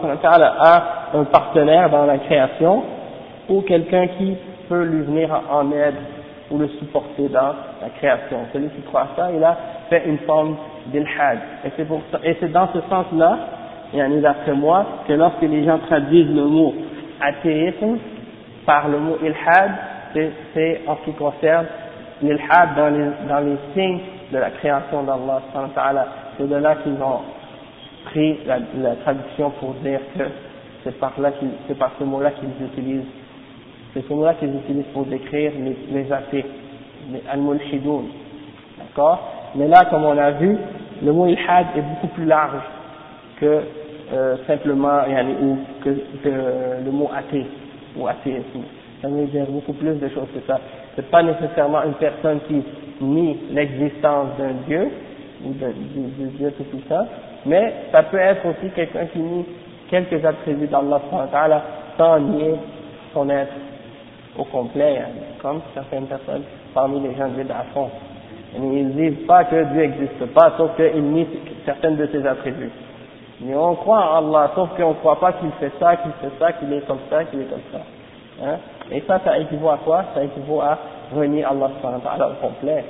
a un partenaire dans la création, ou quelqu'un qui peut lui venir en aide ou le supporter dans la création. Celui qui croit ça, il a fait une forme d'ilhad. Et c'est pour ça, et c'est dans ce sens-là, et d'après moi, que lorsque les gens traduisent le mot athéisme par le mot ilhad, c'est en ce qui concerne l'ilhad dans les, dans les signes de la création d'Allah. C'est de là qu'ils ont pris la, la traduction pour dire que c'est par là qu'ils, c'est par ce mot-là qu'ils utilisent. C'est ce mot-là qu'ils utilisent pour décrire les, les athées, les al-mulhidoun, d'accord? Mais là, comme on a vu, le mot ilhad est beaucoup plus large que euh, simplement, yani, ou que, que le mot athée ou athéisme. Ça veut dire beaucoup plus de choses que ça. C'est pas nécessairement une personne qui nie l'existence d'un Dieu ou de, du, du Dieu tout puissant, mais ça peut être aussi quelqu'un qui nie quelques attributs d'Allah sans nier son être au complet, comme certaines personnes parmi les gens de bid'a font. Ils ne disent pas que Dieu n'existe pas, sauf qu'ils nient certaines de ses attributs. Mais on croit en Allah, sauf qu'on ne croit pas qu'il fait ça, qu'il fait ça, qu'il est comme ça, qu'il est comme ça. Hein? Et ça, ça équivaut à quoi? Ça équivaut à renier Allah au complet.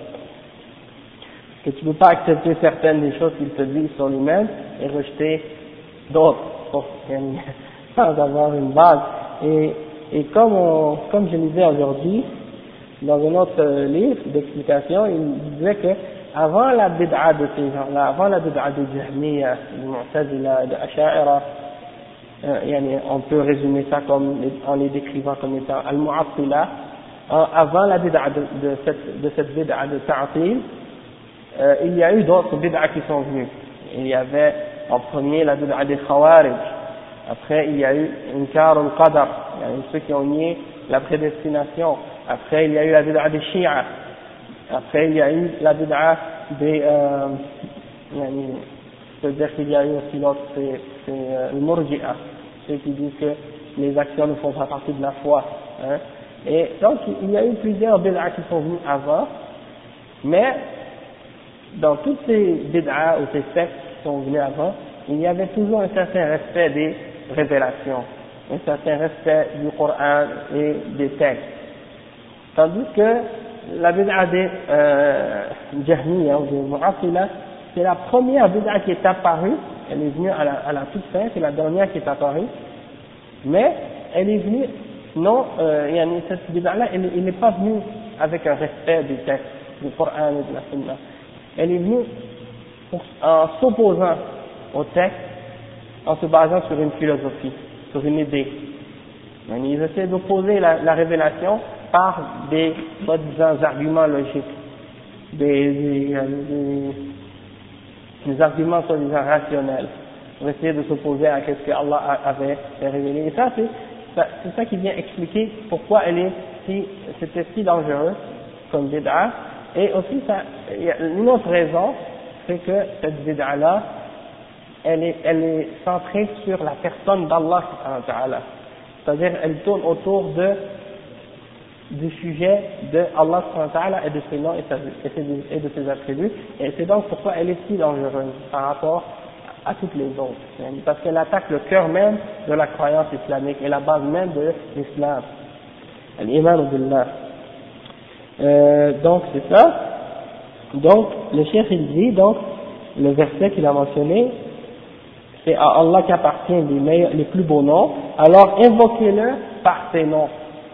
Que tu ne peux pas accepter certaines des choses qu'il te dit sur lui-même et rejeter d'autres, sans avoir une base. Et Et comme, on, comme je lisais aujourd'hui, dans un autre livre d'explication, il disait que avant la bid'a de ces gens-là, avant la bid'a de Jahmiya, de Mu'tazila, de Asha'ira, euh, on peut résumer ça comme, en les décrivant comme étant Al-Mu'attila, avant la bid'a de, de cette, de cette bid'a de Ta'atil, euh, il y a eu d'autres bid'a qui sont venues. Il y avait en premier la bid'a des Khawarij. Après, il y a eu Inkar al-Qadar, il y a eu ceux qui ont nié la prédestination. Après, il y a eu la bid'a des Shia. Après, il y a eu la bid'a des... Euh, c'est-à-dire qu'il y a eu aussi l'autre, c'est, c'est euh, le Murji'a, ceux qui disent que les actions ne font pas partie de la foi. Hein. Et donc, il y a eu plusieurs bid'a qui sont venus avant, mais dans toutes ces bid'a ou ces sectes qui sont venus avant, il y avait toujours un certain respect des révélations, un certain respect du Coran et des textes. Tandis que la bid'a des euh, Jahmiya ou des Mu'attila, c'est la première bid'a qui est apparue, elle est venue à la, à la toute fin, c'est la dernière qui est apparue, mais elle est venue, non, euh, yani cette bid'a-là, elle, elle n'est pas venue avec un respect des textes, du Coran et de la Sunna. Elle est venue pour, en s'opposant au texte, en se basant sur une philosophie, sur une idée. Yani ils essaient d'opposer la, la révélation par des soi-disant arguments logiques, des, des, des, des arguments soi-disant rationnels, pour essayer de s'opposer à ce que Allah avait révélé. Et ça, c'est ça, c'est ça qui vient expliquer pourquoi elle est si, c'était si dangereux comme bid'a. Et aussi, ça, il y a une autre raison, c'est que cette bid'a-là, elle est, elle est centrée sur la personne d'Allah, c'est-à-dire elle tourne autour de du sujet de Allah et de ses noms et de ses attributs, et c'est donc pourquoi elle est si dangereuse par rapport à toutes les autres, parce qu'elle attaque le cœur même de la croyance islamique et la base même de l'islam, l'iman billah. Euh, donc c'est ça. Donc le cheikh il dit, donc le verset qu'il a mentionné, c'est à Allah qu'appartient les meilleurs, les plus beaux noms, alors invoquez-le par ses noms.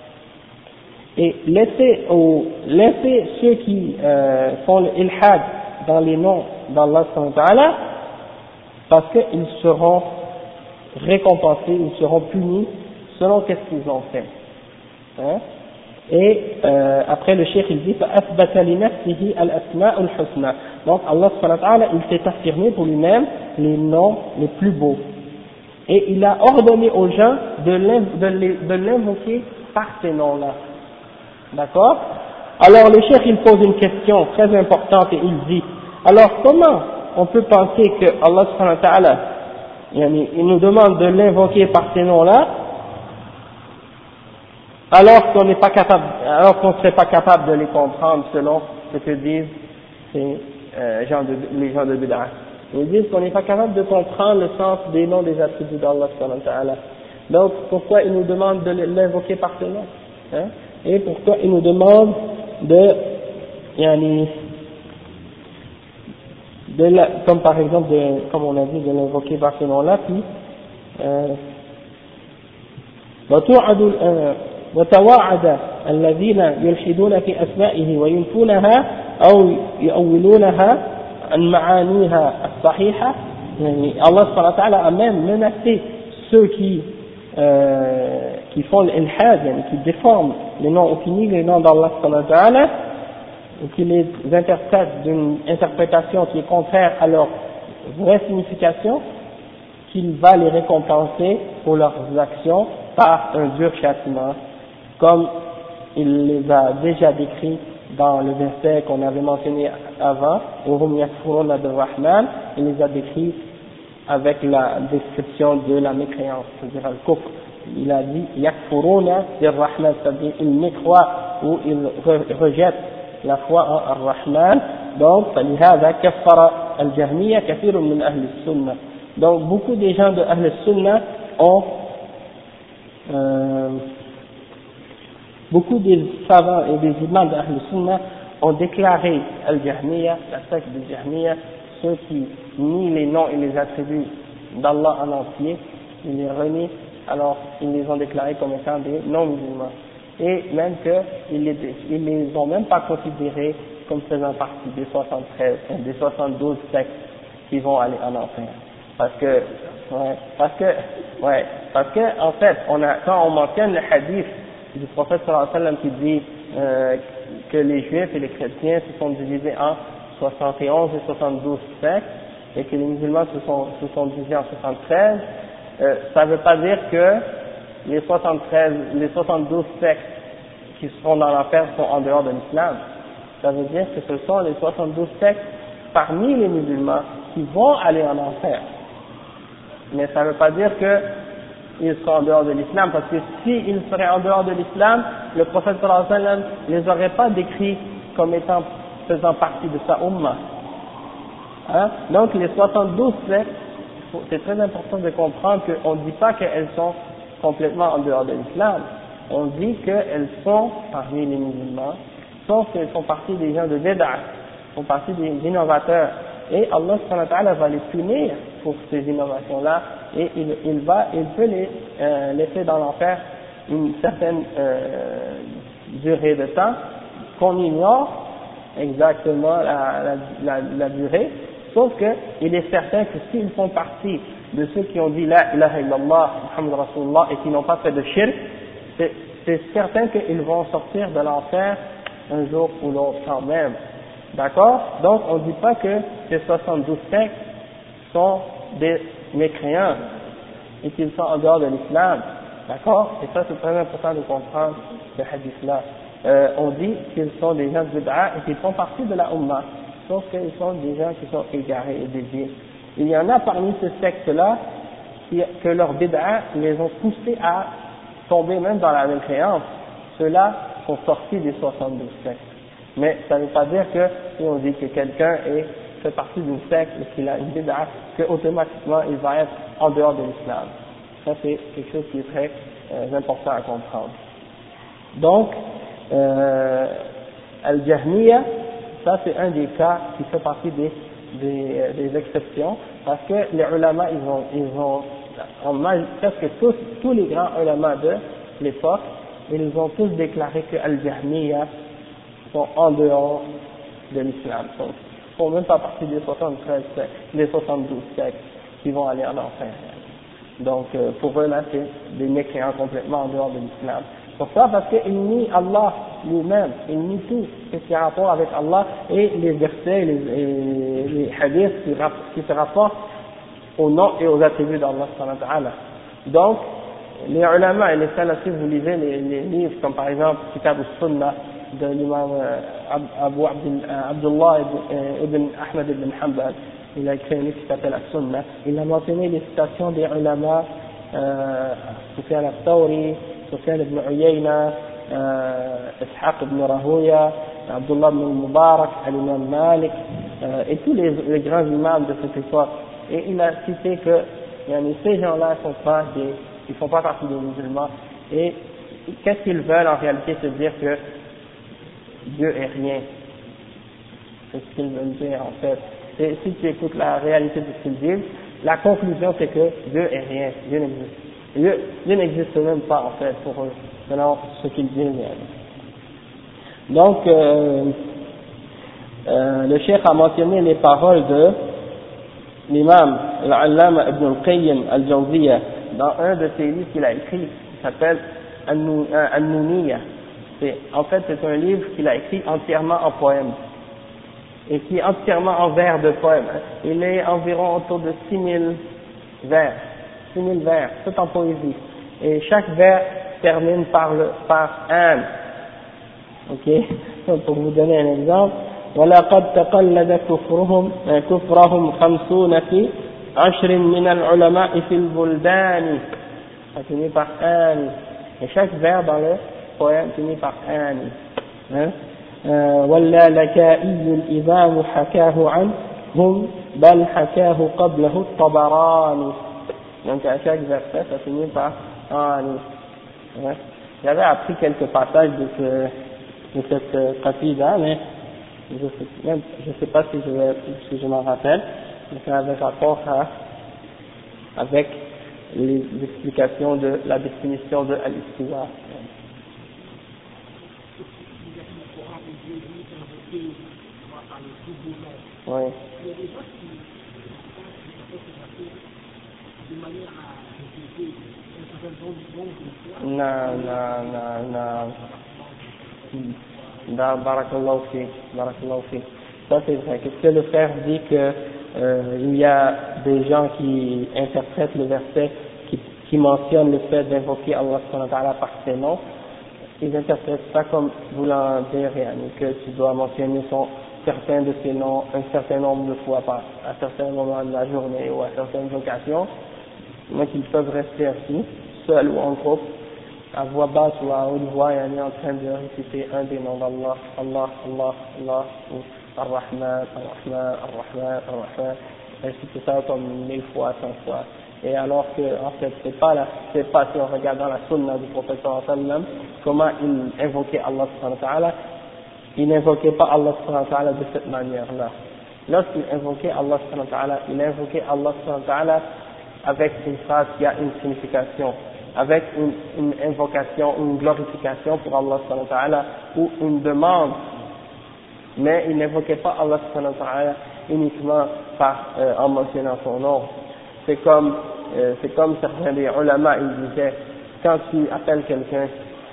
Et laissez, au, laissez ceux qui euh, font l'ilhad dans les noms d'Allah subhanahu wa ta'ala, parce qu'ils seront récompensés, ils seront punis selon qu'est-ce qu'ils ont fait. Hein? Et euh, après le cheikh il dit فَأَثْبَتَ لِنَفْسِهِ الْأَسْمَاءُ الْحُسْنَى. Donc Allah subhanahu wa ta'ala il s'est affirmé pour lui-même les noms les plus beaux. Et il a ordonné aux gens de l'invoquer par ces noms-là. D'accord? Alors le cheikh il pose une question très importante et il dit, alors comment on peut penser que Allah subhanahu wa ta'ala il nous demande de l'invoquer par ces noms-là, alors qu'on n'est pas capable, alors qu'on ne serait pas capable de les comprendre selon ce que disent ces, euh, gens de, les gens de Bid'ah. Ils disent qu'on n'est pas capable de comprendre le sens des noms des attributs d'Allah subhanahu wa ta'ala. Donc pourquoi il nous demande de l'invoquer par ces noms? Hein? Et pourquoi il nous demande de, yani, de la, comme par exemple, de, comme on a dit, de l'invoquer par ce nom-là, puis, وتوعد الذين يلحدون في أسمائه وينفونها أو يؤولونها عن معانيها الصحيحة. يعني Allah subhanahu wa ta'ala a même menacé ceux qui Euh, qui font l'ilhad, qui déforment les noms finis, les noms d'Allah subhanahu wa ta'ala, et qui les interprètent d'une interprétation qui est contraire à leur vraie signification, qu'il va les récompenser pour leurs actions par un dur châtiment, comme il les a déjà décrits dans le verset qu'on avait mentionné avant, Uhum yakfuruna bir-Rahman, il les a décrits avec la description de la mécréance, c'est-à-dire al-kufr. Il a dit yakfuruna bir-Rahman, c'est-à-dire ils mécroient ou ils rejettent la foi en Ar-Rahman. Donc فلهذا كفر الجهمية كثير من أهل السنة. Donc beaucoup des gens de Ahl al-Sunnah ont euh, beaucoup des savants et des imams de Ahl al-Sunnah ont déclaré al-Jahmiya, la secte des Jahmiya, ceux qui nient les noms et les attributs d'Allah en entier, ils les renient, alors ils les ont déclarés comme étant des non-musulmans. Et même qu'ils les, ils les ont même pas considérés comme faisant partie des soixante-treize, des soixante-douze sectes qui vont aller en enfer. Parce que, ouais, parce que, ouais, parce que, en fait, on a, quand on mentionne le hadith du prophète sallallahu alayhi wa sallam qui dit, euh, que les juifs et les chrétiens se sont divisés en soixante et onze et soixante-douze sectes, et que les musulmans se sont, se sont divisés en soixante-treize, euh, ça ne veut pas dire que les soixante-treize, les soixante-douze sectes qui seront dans l'enfer sont en dehors de l'islam. Ça veut dire que ce sont les soixante-douze sectes parmi les musulmans qui vont aller en enfer. Mais ça ne veut pas dire qu'ils seront en dehors de l'islam, parce que s'ils seraient en dehors de l'islam, le prophète sallallahu alayhi wa sallam ne les aurait pas décrits comme étant faisant partie de sa ummah. Hein? Donc les soixante-douze sectes c'est très important de comprendre qu'on ne dit pas qu'elles sont complètement en dehors de l'islam. On dit qu'elles sont parmi les musulmans, sauf qu'elles font partie des gens de bid'ah, font partie des innovateurs. Et Allah subhanahu wa ta'ala va les punir pour ces innovations-là, et il, il va, il peut les euh, laisser dans l'enfer une certaine euh, durée de temps qu'on ignore exactement la, la, la, la durée, sauf qu'il est certain que s'ils font partie de ceux qui ont dit la ilaha illallah Muhammad Rasulullah et qui n'ont pas fait de shirk, c'est, c'est certain qu'ils vont sortir de l'enfer un jour ou l'autre quand même. D'accord? Donc on ne dit pas que ces soixante-douze sectes sont des mécréants et qu'ils sont en dehors de l'islam. D'accord? Et ça c'est très important de comprendre ce hadith-là. Euh, on dit qu'ils sont des gens de bid'a et qu'ils font partie de la Ummah, sauf qu'ils sont des gens qui sont égarés et déviés. Il y en a parmi ces sectes-là qui, que leurs bid'a les ont poussés à tomber même dans la mécréance. Ceux-là sont sortis des soixante-douze sectes. Mais ça ne veut pas dire que si on dit que quelqu'un est, fait partie d'une secte et qu'il a une bid'a, qu'automatiquement il va être en dehors de l'islam. Ça c'est quelque chose qui est très euh, important à comprendre. Donc, euh, Al-Jahmiya, ça c'est un des cas qui fait partie des, des, des exceptions, parce que les ulama, ils ont, ils ont, en mal, presque tous, tous les grands ulama de l'époque, ils ont tous déclaré que Al-Jahmiya sont en dehors de l'islam, donc ils ne font même pas partie des soixante-treize sectes, des soixante-douze sectes qui vont aller en enfer. Donc euh, pour eux là c'est des mécréants complètement en dehors de l'islam. Pourquoi? Parce qu'ils nient Allah lui-même, ils nient tout ce qui a rapport avec Allah et les versets, les, et les hadiths qui, qui se rapportent au nom et aux attributs d'Allah subhanahu wa ta'ala. Donc les ulama et les salafis, vous lisez les, les livres comme par exemple Kitab al-Sunnah de l'imam Abu Abdullah ibn Ahmad ibn Hanbal, il a écrit un livre qui s'appelle Al-Sunnah, il a mentionné les citations des ulama, euh, Sufyan al-Thawri, Sufyan ibn Uyayna, euh, Ishaq ibn Rahuya, Abdullah ibn Mubarak, al-Imam Malik, euh, et tous les, les grands imams de cette époque. Et il a cité que yani, ces gens-là ne sont pas des, ils font pas partie des musulmans. Et qu'est-ce qu'ils veulent en réalité? Se dire que Dieu est rien. C'est ce qu'ils veulent dire en fait. Et si tu écoutes la réalité de ce qu'ils disent, la conclusion c'est que Dieu est rien, Dieu n'existe. Dieu, Dieu n'existe même pas en fait pour eux, selon ce qu'ils disent. Donc, euh, euh, le cheikh a mentionné les paroles de l'imam al-Allama ibn al-Qayyim al-Jawziyya dans un de ses livres qu'il a écrit, qui s'appelle An-Nuniyya. En fait, c'est un livre qu'il a écrit entièrement en poème et qui est entièrement en vers de poème. Il est environ autour de six mille vers, six mille vers, tout en poésie. Et chaque vers termine par le par un. Ok, donc pour vous donner un exemple, وَلَقَدْ تَقَلَّدَ كُفْرُهُمْ كُفْرَهُمْ خَمْسُونَ فِي عَشْرٍ مِنَ الْعُلَمَاءِ فِي الْبُلْدَانِ. Ça finit par un. Et chaque vers dans le poème finit par un. Hein? ولا لكائي الإمام حكاه عنهم بل حكاه قبله الطبراني. Donc à chaque verset ça finit par ani. Hein? J'avais appris quelques passages de, ce, de cette qasida, mais je ne sais, je sais pas si je, vais, si je m'en rappelle, mais ça avait rapport à, avec les explications de la définition de al-istiwa. Oui. Non, non, non, non. Barakallahu fik, barakallahu fik. Ça c'est vrai. Qu'est-ce que le frère dit que euh, il y a des gens qui interprètent le verset qui, qui mentionne le fait d'invoquer Allah subhanahu wa ta'ala par ses noms, ils interprètent ça comme voulant dire que tu dois mentionner son, certains de ses noms un certain nombre de fois par, à certains moments de la journée ou à certaines occasions, mais qu'ils peuvent rester assis, seuls ou en groupe, à voix basse ou à haute voix, et en train de réciter un des noms d'Allah, Allah, Allah, Allah, ou Ar-Rahman, Ar-Rahman, Ar-Rahman, Ar-Rahman, ainsi que ça comme mille fois, cent fois. Et alors que, en fait, c'est pas là, c'est pas si on regarde dans la sunna du prophète sallallahu alayhi wa sallam, comment il invoquait Allah subhanahu wa ta'ala, il n'invoquait pas Allah subhanahu wa ta'ala de cette manière-là. Lorsqu'il invoquait Allah subhanahu wa ta'ala, il invoquait Allah subhanahu wa ta'ala avec une phrase qui a une signification, avec une, une invocation, une glorification pour Allah subhanahu wa ta'ala, ou une demande, mais il n'invoquait pas Allah subhanahu wa ta'ala uniquement par, euh, en mentionnant son nom. C'est comme, euh, c'est comme certains des ulama, ils disaient, quand tu appelles quelqu'un,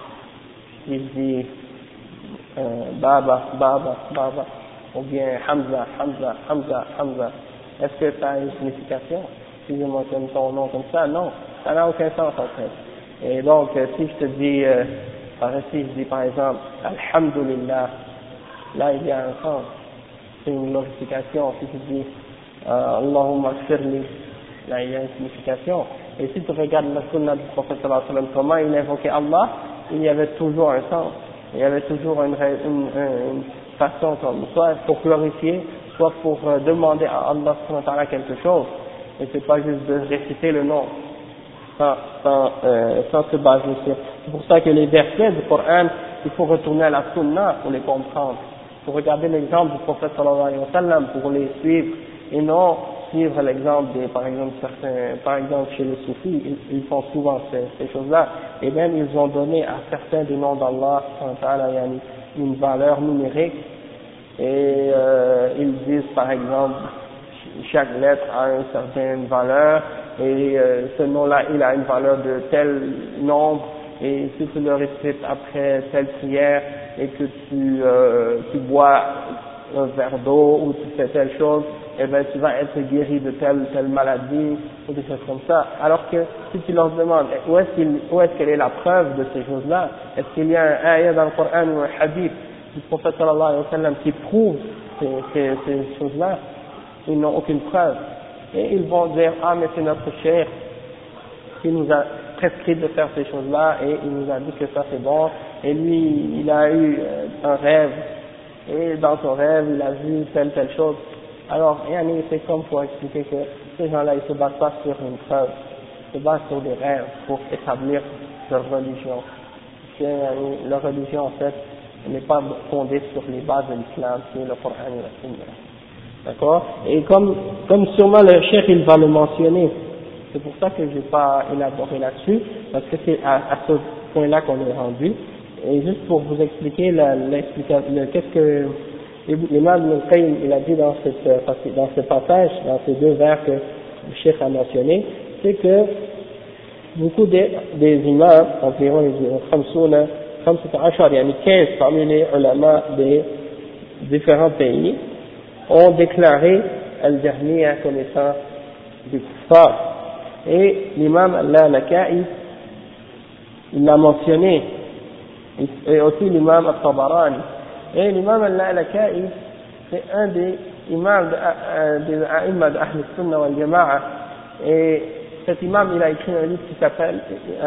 il dit euh, Baba, Baba, Baba, ou bien Hamza, Hamza, Hamza, Hamza. Est-ce que ça a une signification? Si je mentionne ton nom comme ça, non, ça n'a aucun sens en fait. Et donc, euh, si je te dis, euh, par ici, je dis par exemple, Alhamdulillah, là il y a un sens, c'est une glorification. Si tu dis euh, Allahumma firli, là il y a une signification. Et si tu regardes la sunna du prophète sallallahu alayhi wa sallam, comment il invoquait Allah, il y avait toujours un sens, il y avait toujours une, une, une façon, comme, soit pour glorifier, soit pour euh, demander à Allah subhanahu wa ta'ala quelque chose. Et c'est pas juste de réciter le nom, sans, sans, euh, sans se baser sur. C'est pour ça que les versets du Coran, il faut retourner à la sunna pour les comprendre. Il faut regarder l'exemple du prophète sallallahu alayhi wa sallam pour les suivre, et non suivre l'exemple des, par exemple, certains, par exemple chez les soufis, ils, ils font souvent ces, ces choses-là, et même ils ont donné à certains des noms d'Allah une valeur numérique, et euh, ils disent par exemple, chaque lettre a une certaine valeur, et euh, ce nom-là, il a une valeur de tel nombre, et si tu le récites après telle prière, et que tu, euh, tu bois un verre d'eau, ou tu fais telle chose, eh ben tu vas être guéri de telle telle maladie ou des choses comme ça. Alors que si tu leur demandes où est-ce qu'il, où est-ce qu'elle est la preuve de ces choses-là, est-ce qu'il y a un ayat dans le Coran ou un hadith du prophète sallallahu alayhi wa sallam qui prouve ces, ces, ces choses-là, ils n'ont aucune preuve. Et ils vont dire ah mais c'est notre cheikh qui nous a prescrit de faire ces choses-là et il nous a dit que ça c'est bon, et lui il a eu un rêve et dans son rêve il a vu telle telle chose. Alors, c'est comme pour expliquer que ces gens-là, ils ne se basent pas sur une preuve, ils se basent sur des rêves pour établir leur religion. Parce que leur religion, en fait, n'est pas fondée sur les bases de l'islam, qui est le Coran et la Sunna. D'accord? Et comme, comme sûrement le cheikh, il va le mentionner, c'est pour ça que je n'ai pas élaboré là-dessus, parce que c'est à, à ce point-là qu'on est rendu. Et juste pour vous expliquer la, l'explication, le, qu'est-ce que l'imam Ibn al-Qayyim il a dit dans, cette, dans ce passage, dans ces deux vers que le cheikh a mentionné, c'est que beaucoup des, des imams, environ quinze parmi les ulama des différents pays, ont déclaré al-Jahmiya comme étant des kuffars. Et l'imam al-Laka'i, il l'a mentionné, et aussi l'imam al-Tabarani. Et l'imam al-Laka'i, c'est un des imams des a'imma d'Ahl al-Sunnah wal Jama'a. Et cet imam, il a écrit un livre qui s'appelle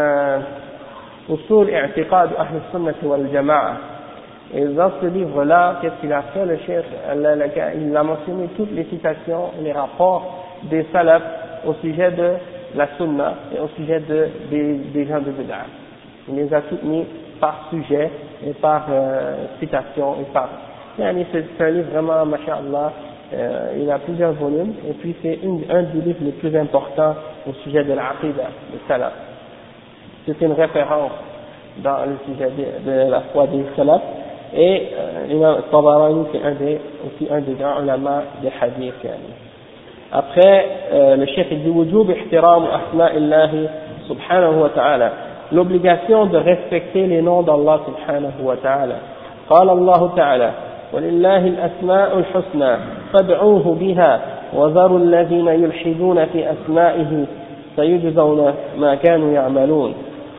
Usul i'tiqad Ahl al-Sunnah wal Jama'a. Et dans ce livre-là, qu'est-ce qu'il a fait, le cheikh al-Laka'i? Il a mentionné toutes les citations, les rapports des salafs au sujet de la Sunna et au sujet de, des, des gens de Bid'ah. Il les a toutes mis par sujet et par euh, citation et par. C'est un livre vraiment, masha'Allah, euh, il a plusieurs volumes et puis c'est un des livres les plus importants au sujet de l'Aqidah, le Salaf. C'est une référence dans le sujet de, de la foi des Salaf. Et euh, l'imam Tabarani, c'est un des, aussi un des grands ulama des hadiths. Après, euh, le cheikh dit wujub ihtiram asma'illahi subhanahu wa ta'ala, l'obligation de respecter les noms d'Allah subhanahu wa ta'ala. قال الله تعالى ولله الأسماء الحسنى فادعوه بها وذروا الذين يلحدون في أسمائه سيجزون ما كانوا يعملون.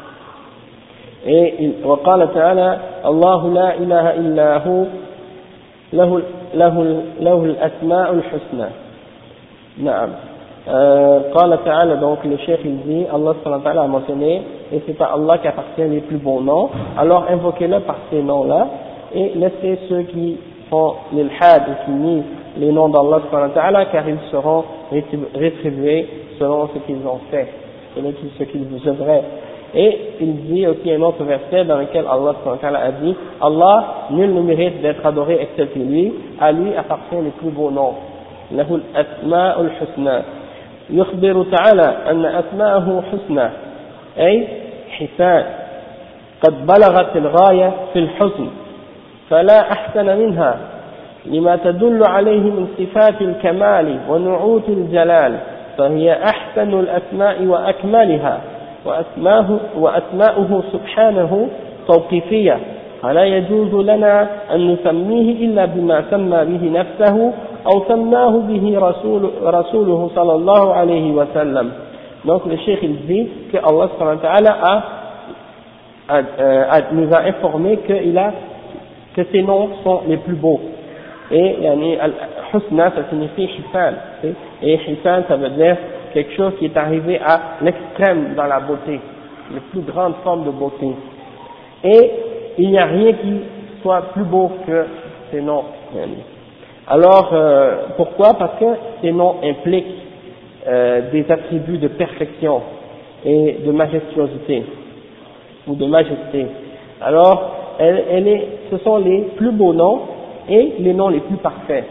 Et وقال تعالى الله لا إله إلا هو له له له الأسماء الحسنى. نعم. قال تعالى, donc le cheikh il dit Allah subhanahu wa ta'ala a mentionné et c'est à Allah qu'appartient les plus bons noms, alors invoquez-le par ces noms-là et laissez ceux qui font l'ilhad et qui nient les noms d'Allah subhanahu wa ta'ala car ils seront rétribués selon ce qu'ils ont fait, selon ce qu'ils vous œuvraient. Et il dit aussi un autre verset dans lequel Allah a dit « Allah, nul ne mérite d'être adoré excepté lui, à lui appartient les plus beaux noms. له الأسماء الحسنى يخبر تعالى أن أسماءه حسنى أي حسان قد بلغت الغاية في الحسن فلا أحسن منها لما تدل عليه من صفات الكمال ونعوت الجلال فهي أحسن الأسماء وأكملها وأسماءه, وأسماؤه سبحانه توقيفية فلا يجوز لنا أن نسميه إلا بما سمى به نفسه أو سماه به رسول رسوله صلى الله عليه وسلم. Donc le cheikh il dit que Allah subhanahu wa ta'ala a, a, a, nous a informé que, il a, que ces noms sont les plus beaux. Et yani, al-husna ça signifie hisan. Et hisan ça veut dire quelque chose qui est arrivé à l'extrême dans la beauté, la plus grande forme de beauté. Et il n'y a rien qui soit plus beau que ces noms. Alors, euh, pourquoi? Parce que ces noms impliquent euh, des attributs de perfection et de majestuosité, ou de majesté. Alors, elle, elle est, ce sont les plus beaux noms et les noms les plus parfaits.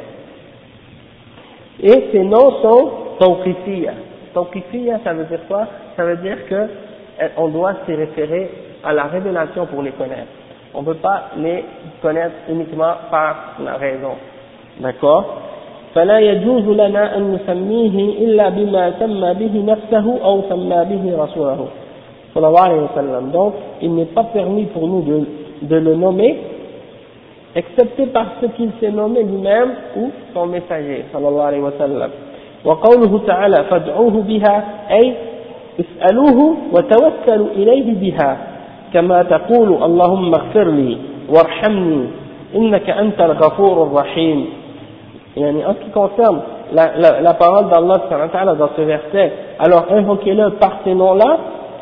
Et ces noms sont tawqifiyya. Tawqifiyya, ça veut dire quoi? Ça veut dire que on doit s'y référer à la révélation pour les connaître. On ne peut pas les connaître uniquement par la raison. D'accord? فلا يجوز لنا أن نسميه إلا بما سمى به نفسه أو سمى به رسوله صلى الله عليه وسلم. Donc, il n'est pas permis pour nous de, de le nommer, excepté par ce qu'il s'est nommé lui-même ou son messager صلى الله عليه وسلم. وقوله تعالى فادعوه بها أي اسألوه وتوكلوا إليه بها كما تقول اللهم اغفر لي وارحمني إنك أنت الغفور الرحيم. Yani, en ce qui concerne la, la, la parole d'Allah dans ce verset, alors invoquez-le par ces noms-là,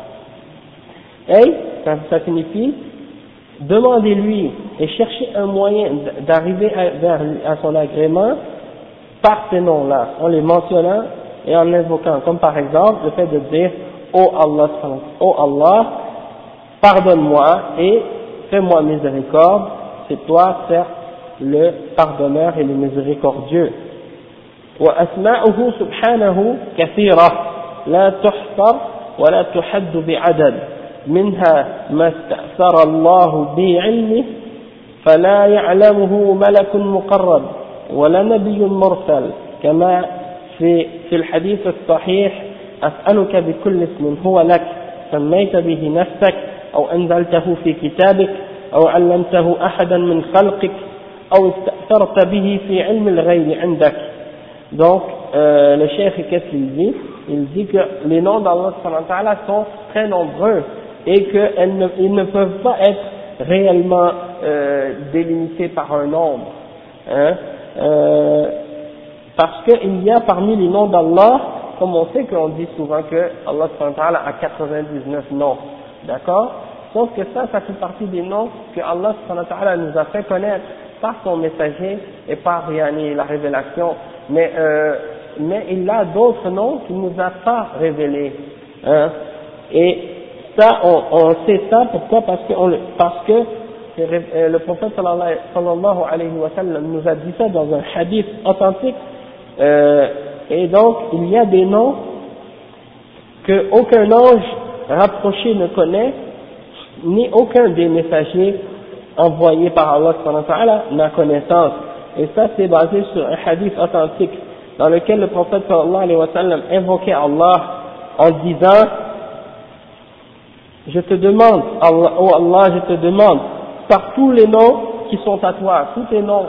et ça, ça signifie demandez-lui et cherchez un moyen d'arriver à, vers, à son agrément par ces noms-là, en les mentionnant et en l'invoquant, comme par exemple le fait de dire oh Allah, oh Allah, pardonne-moi et fais-moi miséricorde, c'est toi certes le pardonneur et le miséricordieux. وأسماؤه سبحانه كثيرة لا تحصر ولا تحد بعدد منها ما استأثر الله بعلمه فلا يعلمه ملك مقرب ولا نبي مرسل كما في في الحديث الصحيح أسألك بكل اسم هو لك سميت به نفسك أو أنزلته في كتابك أو علمته أحدا من خلقك أو استأثرت به في علم الغيب عندك. Donc, euh, le cheikh, qu'est-ce qu'il dit? Il dit que les noms d'Allah subhanahu wa ta'ala sont très nombreux et qu'ils ne, ils ne peuvent pas être réellement euh, délimités par un nombre. Hein? Euh, parce qu'il y a parmi les noms d'Allah, comme on sait qu'on dit souvent que Allah subhanahu wa ta'ala a quatre-vingt-dix-neuf noms. D'accord? Sauf que ça, ça fait partie des noms que Allah subhanahu wa ta'ala nous a fait connaître par son messager et par yani, la révélation, mais, euh, mais il a d'autres noms qu'il ne nous a pas révélés. Hein. Et ça, on, on sait ça, pourquoi? Parce que, on, parce que le prophète sallallahu alayhi wa sallam nous a dit ça dans un hadith authentique, euh, et donc il y a des noms que aucun ange rapproché ne connaît, ni aucun des messagers envoyé par Allah subhanahu wa ta'ala n'a connaissance. Et ça c'est basé sur un hadith authentique dans lequel le prophète sallallahu alayhi wa sallam invoquait Allah en disant je te demande, Allah, oh Allah, je te demande par tous les noms qui sont à toi, tous tes noms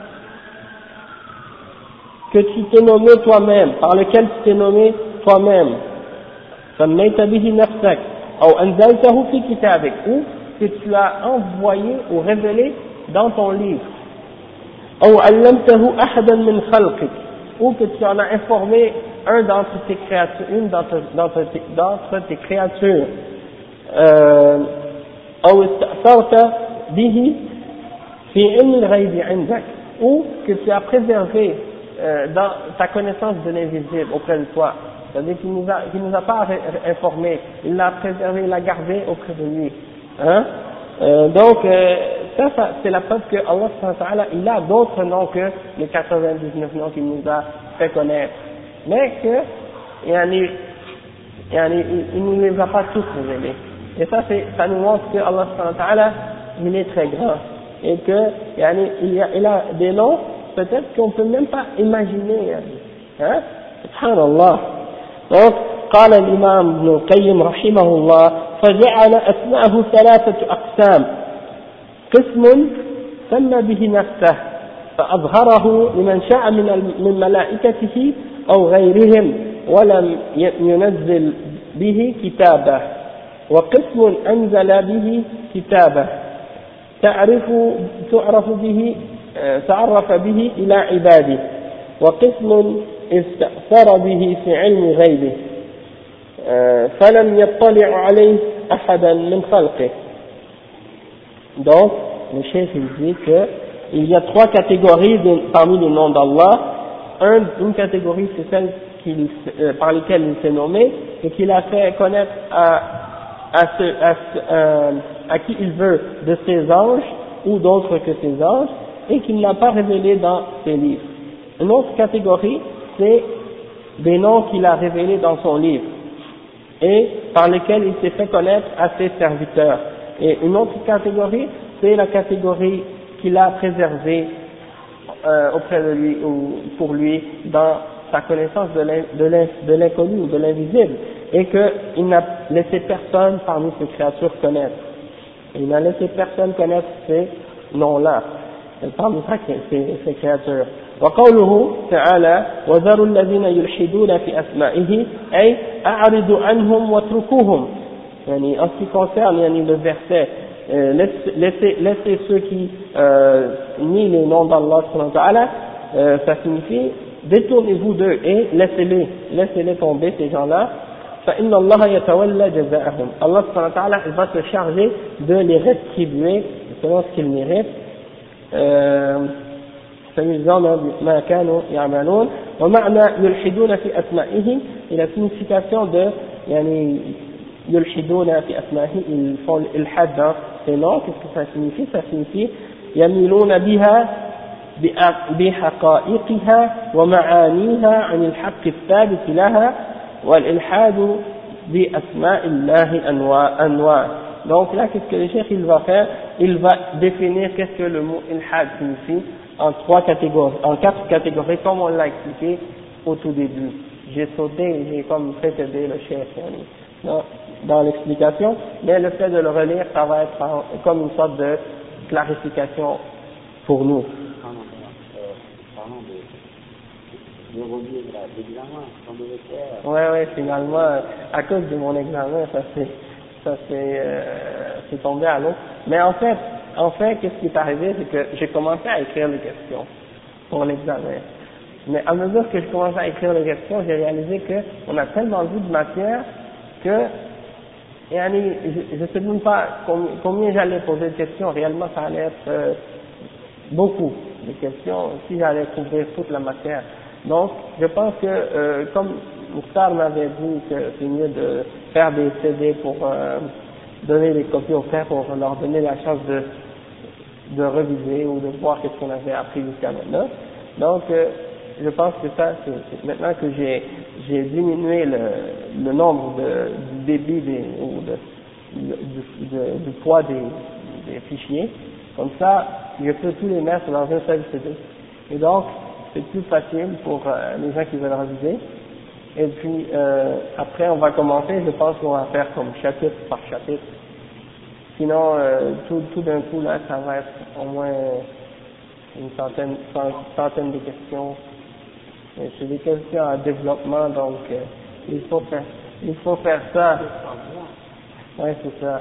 que tu t'es nommé toi-même, par lesquels tu t'es nommé toi-même, سميت به نفسك أو أنزلته في كتابك, ou que tu as envoyé ou révélé dans ton livre, أو علمته أحدا من خلقك, ou que tu en as informé un d'entre tes créatures, une d'entre, d'entre, tes, d'entre tes créatures, euh, أو استأثرت به في علم الغيب عندك, ou que tu as préservé euh, dans sa connaissance de l'invisible auprès de toi. C'est-à-dire qu'il nous a, qu'il nous a pas informé, il l'a préservé, il l'a gardé auprès de lui. Hein? Euh, donc, euh, ça, ça c'est la preuve que Allah subhanahu wa ta'ala, il a d'autres noms que les quatre-vingt-dix-neuf noms qu'il nous a fait connaître. Mais que, yani, yani, il ne nous les a pas tous révélés. Et ça, c'est, ça nous montre que Allah subhanahu wa ta'ala, il est très grand. Et que, yani, il, y a, il a des noms, peut-être qu'on peut même pas imaginer. Hein? Subhanallah. Donc, قال الإمام ابن القيم رحمه الله فجعل أسماءه ثلاثة أقسام قسم سمى به نفسه فأظهره لمن شاء من من ملائكته أو غيرهم ولم ينزل به كتابه وقسم أنزل به كتابه تعرف تعرف به تعرف به إلى عباده وقسم استأثر به في علم غيبه فلم يطلع عليه أحدا من خلقه. Donc, le chef il dit que il y a trois catégories de, parmi les noms d'Allah. Un, une catégorie c'est celle qu'il, euh, par lesquelles il s'est nommé et qu'il a fait connaître à, à, ce, à, euh, à qui il veut de ses anges ou d'autres que ses anges et qu'il n'a pas révélé dans ses livres. Une autre catégorie c'est des noms qu'il a révélés dans son livre et par lesquels il s'est fait connaître à ses serviteurs. Et une autre catégorie, c'est la catégorie qu'il a préservée euh, auprès de lui ou pour lui dans sa connaissance de l'inconnu ou de l'invisible, et qu'il n'a laissé personne parmi ses créatures connaître. Il n'a laissé personne connaître ces noms-là parmi ses, ses créatures. وقوله تعالى وذروا الذين يلحدون في أسمائه أي أعرضوا عنهم واتركوهم. يعني en ce qui concerne يعني le verset euh, laissez, laissez ceux qui euh, nient les noms d'Allah subhanahu wa ta'ala, euh, ça signifie détournez-vous d'eux et laissez-les laissez-les tomber ces gens-là. فإن الله يتولى جزاءهم. Allah subhanahu wa ta'ala il va se charger de les rétribuer selon ce qu'ils méritent. euh, ما كانوا يعملون ومعنى يلحدون في أسمائه et la signification de يعني يلحدون في أسمائه ils font l'ilhad dans ces noms. Qu'est-ce que ça signifie? Ça signifie يميلون بها بحقائقها ومعانيها عن الحق الثابت لها والإلحاد بأسماء الله أنواع. Donc là, qu'est-ce que le cheikh il va faire? Il va définir qu'est-ce que le mot ilhad signifie en trois catégories, en quatre catégories, comme on l'a expliqué au tout début. J'ai sauté, j'ai comme précédé le chef dans, dans l'explication, mais le fait de le relire, ça va être en, comme une sorte de clarification pour nous. Parlons de, de relire l'examen, qu'on devait faire. Ouais, ouais, finalement, à cause de mon examen, ça s'est, ça s'est, euh, c'est tombé à l'eau. Mais en fait, En fait, qu'est-ce qui est arrivé, c'est que j'ai commencé à écrire les questions pour l'examen. Mais à mesure que je commençais à écrire les questions, j'ai réalisé qu'on a tellement vu de matière que, yani, je ne sais même pas combien j'allais poser de questions. Réellement, ça allait être euh, beaucoup de questions si j'allais couvrir toute la matière. Donc, je pense que, euh, comme Mokhtar m'avait dit que c'est mieux de faire des C D pour euh, donner des copies aux frères pour leur donner la chance de de réviser ou de voir qu'est-ce qu'on avait appris jusqu'à maintenant. Donc, euh, je pense que ça, c'est maintenant que j'ai j'ai diminué le, le nombre de, du débit des, ou de, de, de, du poids des, des fichiers, comme ça, je peux tous les mettre dans un seul C D. Et donc, c'est plus facile pour euh, les gens qui veulent réviser. Et puis, euh, après, on va commencer, je pense qu'on va faire comme chapitre par chapitre. Sinon, euh, tout, tout d'un coup, là, ça va être au moins une centaine, centaine de questions. Et c'est des questions à développement, donc euh, il faut faire, il faut faire ça. Ouais, c'est ça.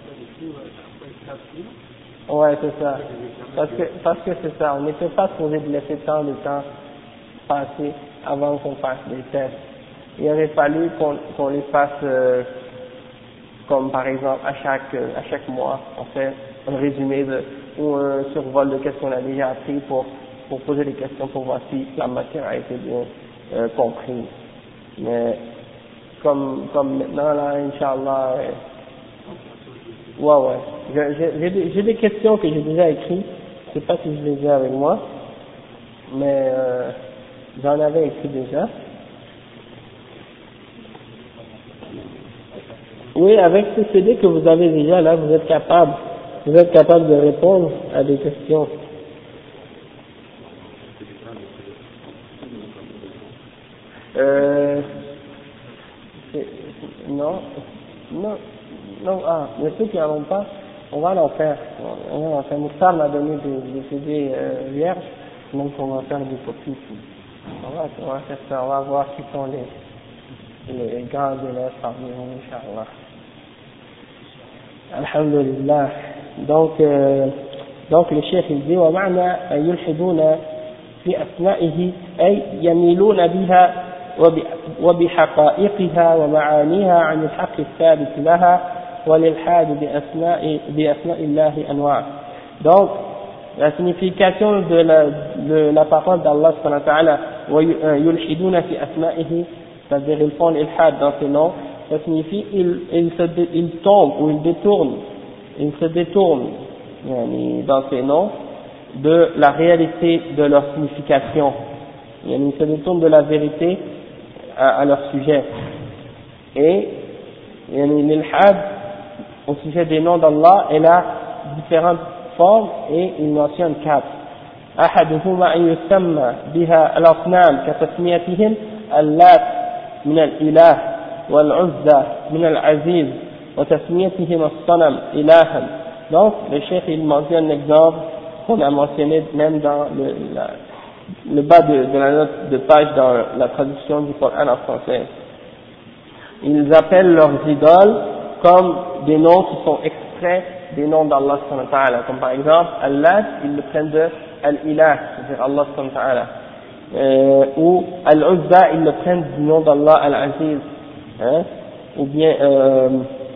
Ouais, c'est ça. Parce que, parce que c'est ça, on n'était pas supposé de laisser tant de temps passer avant qu'on fasse les tests. Il aurait fallu qu'on qu'on les fasse euh, comme par exemple à chaque à chaque mois, on fait un résumé de, ou un survol de qu'est-ce qu'on a déjà appris pour pour poser des questions pour voir si la matière a été bien euh, comprise. Mais comme, comme maintenant là, Inch'Allah, euh, ouais, ouais. Je- je- J'ai des, j'ai des questions que j'ai déjà écrites, je sais pas si je les ai avec moi, mais euh, j'en avais écrit déjà. Oui, avec ce C D que vous avez déjà là, vous êtes capable, vous êtes capable de répondre à des questions. Euh, c'est- non, non, non, ah, mais ceux qui n'en ont pas, on va l'en faire. On va l'en faire. Moustar m'a donné des, des C D euh, vierges, donc on va faire des copies. On va, on va faire ça, on va voir qui sont les, les grands élèves parmi nous, Inch'Allah. Alhamdulillah. Donc, euh, donc le cheikh il dit ومعنى أن يلحدون في أسمائه أي يميلون بها وبحقائقها ومعانيها عن الحق الثابت لها والإلحاد بأسماء بأسماء الله أنواع. Donc la signification de la, de la parole d'Allah subhanahu wa ta'ala ويلحدون في أسمائه, c'est-à-dire ils font l'ilhad dans ses noms, ça signifie ils, ils, se, ils tombent ou ils détournent, ils se détournent yani, dans ces noms de la réalité de leur signification. Yani, ils se détournent de la vérité à, à leur sujet. Et yani, l'ilhad au sujet des noms d'Allah, elle a différentes formes et il mentionne quatre. أحدهما أن يسمى بها الأصنام كتسميتهم اللات من الإله والعزى من العزيز وتسميتهم الصنم إلها. Donc le cheikh il mentionne un exemple qu'on a mentionné même dans le, la, le bas de, de la note de page dans la traduction du Coran en français. Ils appellent leurs idoles comme des noms qui sont extraits des noms d'Allah subhanahu wa ta'ala, comme par exemple Allah, ils le prennent de Al-Ilah, c'est-à-dire Allah subhanahu wa ta'ala, euh, ou Al-Uzza, ils le prennent du nom d'Allah Al-Aziz, hein, ou bien euh,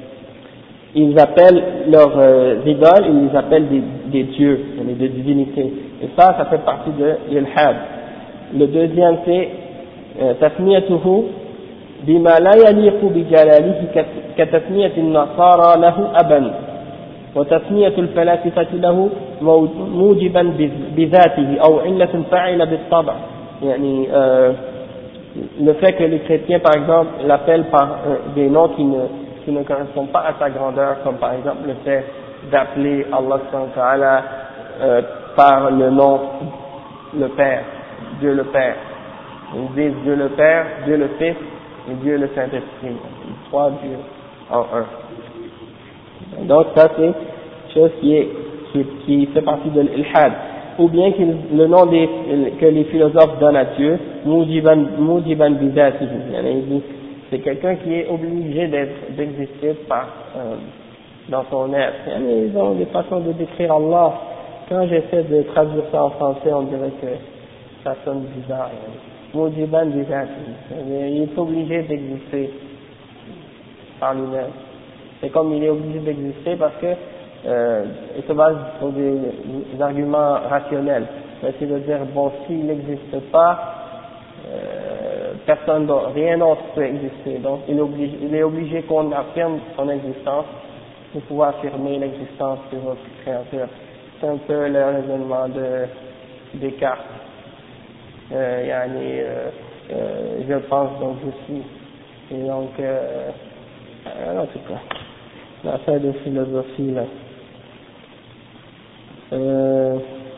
ils appellent leurs euh, idoles, ils les appellent des, des dieux, des divinités, et ça, ça fait partie de l'ilhad. Le deuxième c'est tasmiyatuhu bima la yaliqu bi jalalihi katasmiyati an-nasara lahu aban وتسمية الفلاسفة له موجبا بذاته أو علة فاعلة بالطبع. يعني euh, le fait que les chrétiens par exemple l'appellent par euh, des noms qui ne, qui ne correspondent pas à sa grandeur, comme par exemple le fait d'appeler Allah subhanahu wa ta'ala euh, par le nom le Père, Dieu le Père. Ils disent Dieu le Père, Dieu le Fils et Dieu le Saint-Esprit, trois dieux en un. Donc ça c'est chose qui est qui, qui fait partie de l'ilhad, ou bien que le nom des, que les philosophes donnent à Dieu, mujiban mujiban bizatihi, c'est quelqu'un qui est obligé d'être d'exister par euh, dans son être. Ils ont des façons de décrire Allah. Quand j'essaie de traduire ça en français, on dirait que ça sonne bizarre. Mujiban bizatihi, il est obligé d'exister par lui-même. C'est comme il est obligé d'exister parce que euh, il se base sur des, des arguments rationnels. C'est de dire bon, s'il n'existe pas, euh, personne d'autre, rien d'autre peut exister. Donc il est obligé, il est obligé qu'on affirme son existence pour pouvoir affirmer l'existence de votre créateur. C'est un peu le raisonnement de Descartes. Euh, yani, euh, euh, je pense donc je suis. Et donc euh, en tout cas. L'affaire de philosophie là. Euh,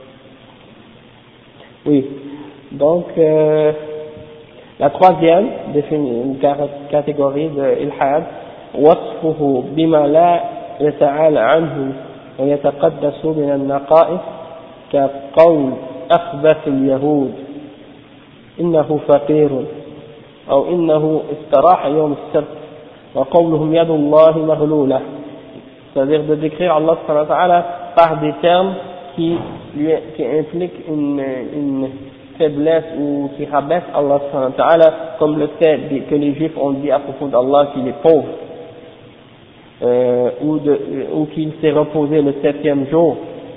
oui. Donc euh, la troisième définie une catégorie de ilhad, وصفه بما لا يتعالى عنه ويتقدس من النقائص كقول أخبث اليهود إنه فقير أو إنه استراح يوم السبت وقولهم يد الله مغلولة, c'est-à-dire de décrire Allah subhanahu wa ta'ala par des termes qui, lui, qui impliquent une, une faiblesse ou qui rabaissent Allah subhanahu wa ta'ala, comme le fait que les juifs ont dit à propos d'Allah qu'il est pauvre, euh, ou, de, ou qu'il s'est reposé le septième jour,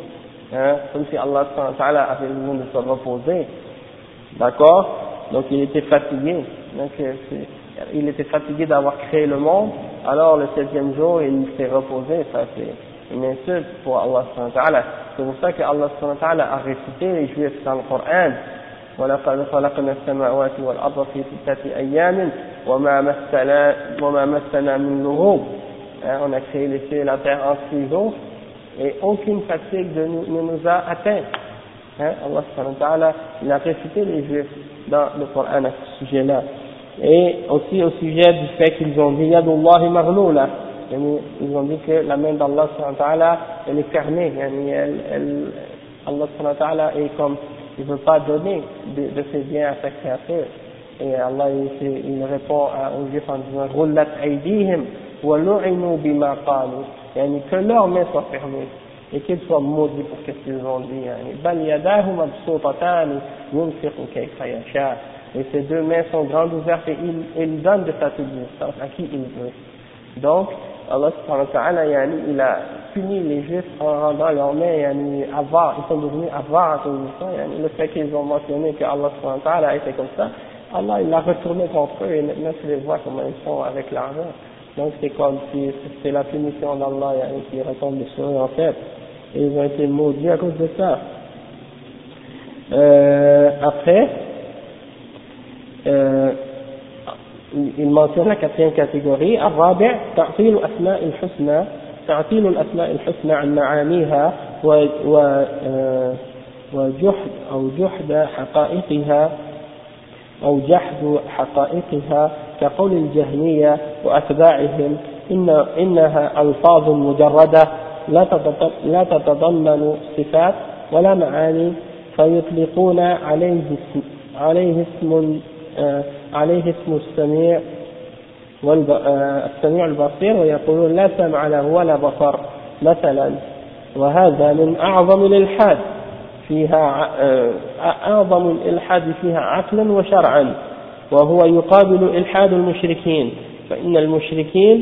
hein, comme si Allah subhanahu wa ta'ala avait besoin de se reposer, d'accord, donc il était fatigué, donc c'est, il était fatigué d'avoir créé le monde, alors le septième jour il s'est reposé, ça c'est une insulte pour Allah subhanahu wa ta'ala. C'est pour ça que Allah subhanahu wa ta'ala a récité les Juifs dans le Coran. وَلَقَدْ خَلَقْنَا السَّمَاوَاتِ وَالْأَرْضَ فِي سِتَّةِ أَيَّامٍ وَمَا مَسَّنَا وَمَا مَسَّنَا مِن لُغُوبٍ. On a créé les cieux et la terre en six jours et aucune fatigue de nous, ne nous a atteint. Hein, Allah subhanahu wa ta'ala, il a récité les Juifs dans le Coran à ce sujet-là. Et aussi au sujet du fait qu'ils ont dit Yadullahi maghlula, ils ont dit que la main d'Allah subhanahu wa ta'ala elle est fermée, elle, elle, Allah subhanahu wa ta'ala est comme il ne veut pas donner de, de ses biens à sa créature. Et Allah il, il répond à, aux Juifs en disant Ghullat aydihim wa lu'inu bima qalu, yani que leurs mains soient fermées et qu'ils soient maudits pour ce qu'ils ont dit. Bal yadahu mabsuutatan yunfiqu kayfa yasha. Et ces deux mains sont grandes ouvertes et il, il donne de sa subsistance à qui il veut. Donc, Allah subhanahu wa ta'ala, yani, il a puni les Juifs en rendant leurs mains yani, avares, ils sont devenus avares à cause de ça. Yani, le fait qu'ils ont mentionné que Allah subhanahu wa ta'ala était comme ça, Allah il l'a retourné contre eux et maintenant tu les vois comment ils sont avec l'argent. Donc c'est comme si c'est la punition d'Allah yani, qui retombe sur eux en fait. Et ils ont été maudits à cause de ça. Euh, après, euh, il mentionne la quatrième catégorie, الرابع تعطيل أسماء الحسنى تعطيل الأسماء الحسنى عن معانيها وجحد أو جحد حقائقها أو جحد حقائقها كقول الجهمية وأتباعهم إن إنها ألفاظ مجردة لا تتضمن صفات ولا معاني فيطلقون عليه اسم عليه اسم عليه اسم السميع والسميع البصير ويقولون لا سمع له ولا بصر مثلا وهذا من أعظم الإلحاد فيها أعظم الإلحاد فيها عقلا وشرعا وهو يقابل إلحاد المشركين فإن المشركين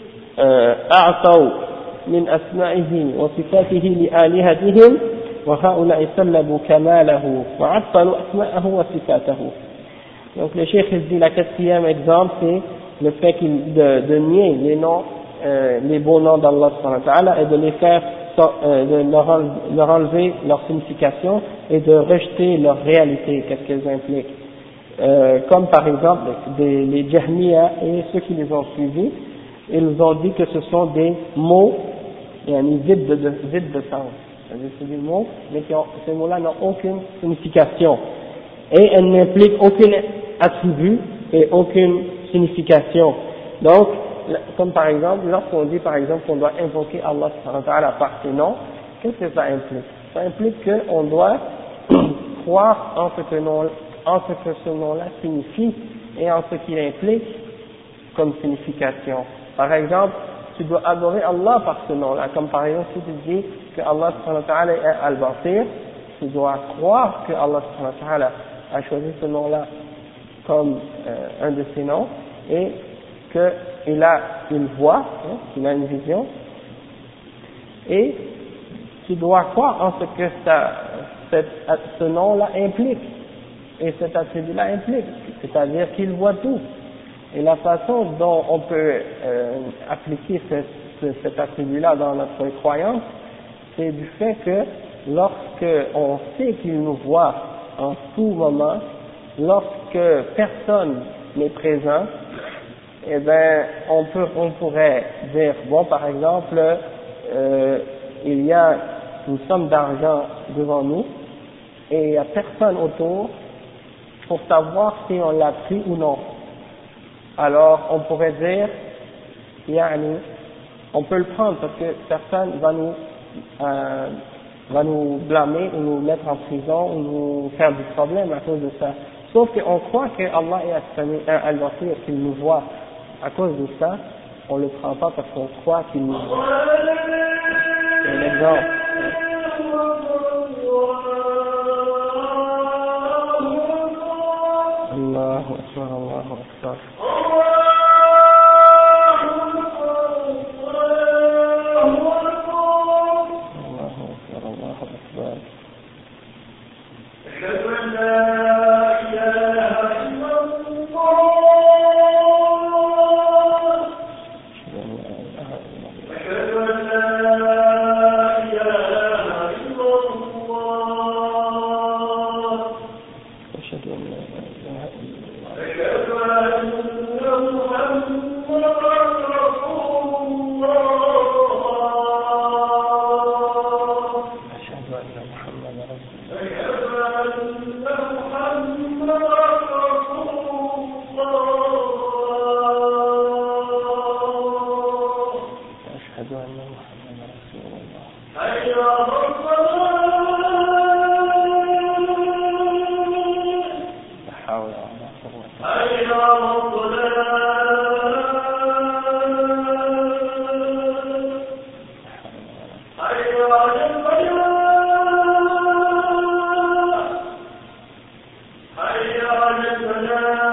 أعطوا من أسمائه وصفاته لآلهتهم وهؤلاء سلبوا كماله وعطلوا أسماءه وصفاته. Donc le cheikh dit la quatrième exemple c'est le fait de, de nier les noms, euh, les beaux noms d'Allah subhanahu wa ta'ala et de les faire, euh, de leur, enlever, leur enlever leur signification et de rejeter leur réalité, qu'est-ce qu'elles impliquent. Euh, comme par exemple des, les Jahmiya et ceux qui les ont suivis, ils ont dit que ce sont des mots yani, vides de, de, vides de sens. C'est des mots, mais qui ont, ces mots-là n'ont aucune signification. Et elles n'impliquent aucun attribut et aucune signification. Donc, comme par exemple, lorsqu'on dit par exemple qu'on doit invoquer Allah subhanahu wa ta'ala par ses noms, qu'est-ce que ça implique? Ça implique qu'on doit croire en ce que, nom, en ce que ce nom-là signifie et en ce qu'il implique comme signification. Par exemple, tu dois adorer Allah par ce nom-là, comme par exemple si tu dis que Allah subhanahu wa ta'ala est Al-Basir, tu dois croire que Allah subhanahu wa ta'ala a choisi ce nom-là comme euh, un de ses noms et qu'il a une voix, hein, qu'il a une vision, et tu dois croire en ce que ça, cette, ce nom-là implique et cet attribut-là implique, c'est-à-dire qu'il voit tout. Et la façon dont on peut euh, appliquer ce, ce, cet attribut-là dans notre croyance, c'est du fait que lorsque on sait qu'il nous voit en tout moment, lorsque personne n'est présent, eh ben, on peut, on pourrait dire, bon, par exemple, euh, il y a une somme d'argent devant nous et il n'y a personne autour pour savoir si on l'a pris ou non. Alors, on pourrait dire, yani, on peut le prendre parce que personne va nous, euh, va nous blâmer ou nous mettre en prison ou nous faire du problème à cause de ça. Sauf qu'on croit que Allah est Al-Basir, qu'il nous voit. À cause de ça, on ne le prend pas parce qu'on croit qu'il nous voit. C'est un exemple. Allahu Akbar, Allahu Akbar. Allahu Akbar, Allahu Akbar. أن محمدا رسول الله. حي على الصلاة. لا حول ولا قوة. حي على الصلاة. حي على الفلاح. حي على الفلاح.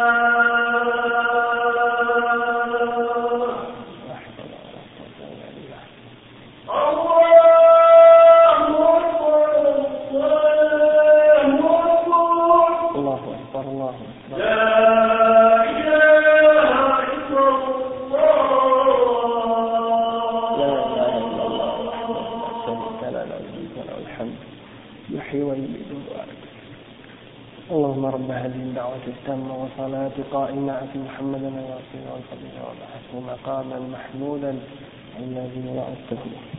اللهم رب هذه الدعوة التامة وصلاة قائمة آت محمدا الوسيلة والفضيلة وابعثه مقاما محمودا الذي وعدته.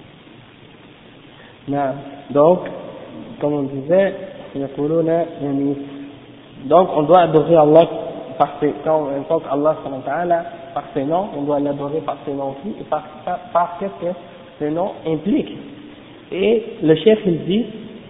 نعم. Donc, comme on disait, donc on doit adorer Allah par ses, quand on invoque Allah par ses noms, on doit l'adorer par ses noms aussi et par, par, par ce que ces noms impliquent. Et le chef il dit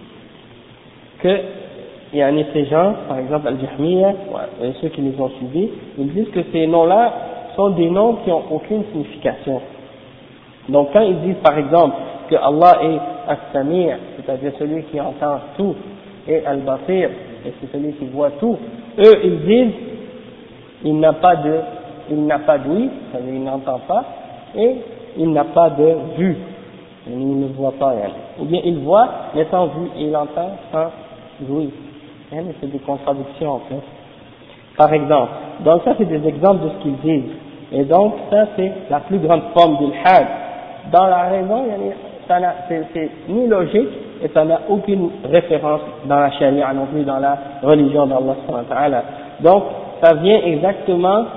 que il y a ces gens, par exemple Al-Jahmiya et ceux qui les ont suivis, ils disent que ces noms-là sont des noms qui n'ont aucune signification. Donc quand ils disent par exemple que Allah est As-Sami', c'est-à-dire celui qui entend tout, et Al-Basir, et c'est celui qui voit tout, eux ils disent il n'a pas de il n'a pas d'ouïe, c'est-à-dire il n'entend pas, et il n'a pas de vue, il ne voit pas, ou bien il voit mais sans vue, et il entend sans ouïe. C'est des contradictions en fait. Par exemple, donc ça c'est des exemples de ce qu'ils disent. Et donc ça c'est la plus grande forme d'ilhad. Dans la raison, c'est ni logique et ça n'a aucune référence dans la charia non plus, dans la religion d'Allah subhanahu wa ta'ala. Donc ça vient exactement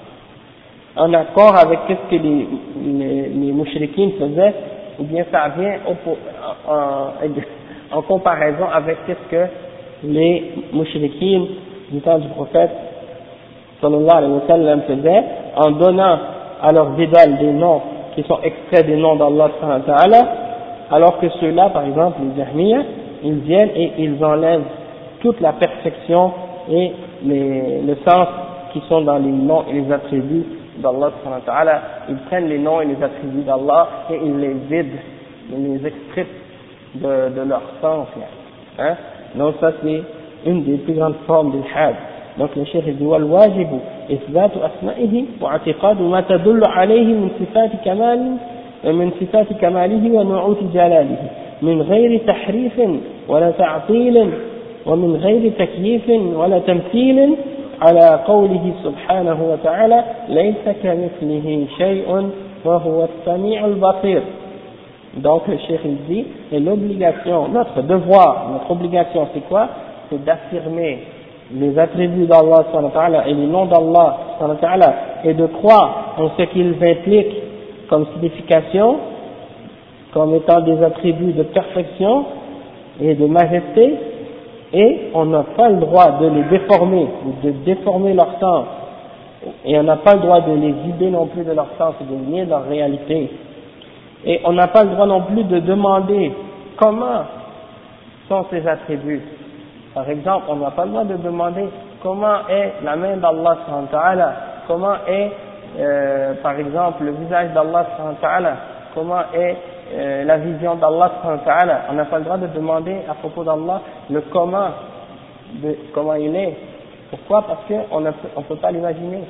en accord avec ce que les, les, les mouchrikines faisaient, ou bien ça vient en, en, en comparaison avec ce que les mouchrikines du temps du prophète sallallahu alayhi wa sallam faisaient en donnant à leurs idoles des noms qui sont extraits des noms d'Allah subhanahu wa ta'ala, alors que ceux-là, par exemple les Jahmiya, ils viennent et ils enlèvent toute la perfection et les, le sens qui sont dans les noms et les attributs d'Allah subhanahu wa ta'ala. Ils prennent les noms et les attributs d'Allah et ils les vident, ils les extraient de, de leur sens, hein. Donc ça c'est une des plus grandes formes d'ilhad. Donc le cheikh dit والواجب إثبات أسمائه واعتقاد ما تدل عليه من صفات كمال من صفات كماله ونعوت جلاله من غير تحريف ولا تعطيل ومن غير تكييف ولا تمثيل على قوله سبحانه وتعالى ليس كمثله شيء وهو السميع البصير. Donc le cheikh il dit, et l'obligation, notre devoir, notre obligation c'est quoi? C'est d'affirmer les attributs d'Allah subhanahu wa ta'ala et les noms d'Allah subhanahu wa ta'ala et de croire en ce qu'ils impliquent comme signification, comme étant des attributs de perfection et de majesté, et on n'a pas le droit de les déformer, de déformer leur sens, et on n'a pas le droit de les vider non plus de leur sens et de nier leur réalité. Et on n'a pas le droit non plus de demander comment sont ces attributs. Par exemple, on n'a pas le droit de demander comment est la main d'Allah subhanahu wa ta'ala, comment est, euh, par exemple, le visage d'Allah subhanahu wa ta'ala, comment est euh, la vision d'Allah subhanahu wa ta'ala. On n'a pas le droit de demander à propos d'Allah le comment, de comment il est. Pourquoi? Parce qu'on ne on peut pas l'imaginer.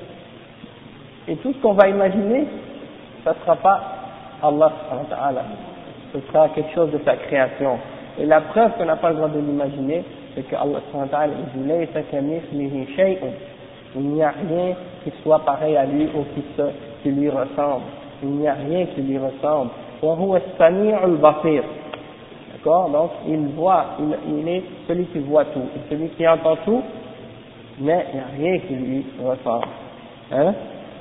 Et tout ce qu'on va imaginer, ça ne sera pas Allah subhanahu wa ta'ala, ce sera quelque chose de sa création. Et la preuve qu'on n'a pas le droit de l'imaginer, c'est que Allah subhanahu wa ta'ala dit laysa kamithlihi shay'un, il n'y a rien qui soit pareil à lui ou qui, se, qui lui ressemble, il n'y a rien qui lui ressemble. Wa huwa as-sami'ul basir. D'accord? Donc il voit, il, il est celui qui voit tout, et celui qui entend tout, mais il n'y a rien qui lui ressemble. Hein?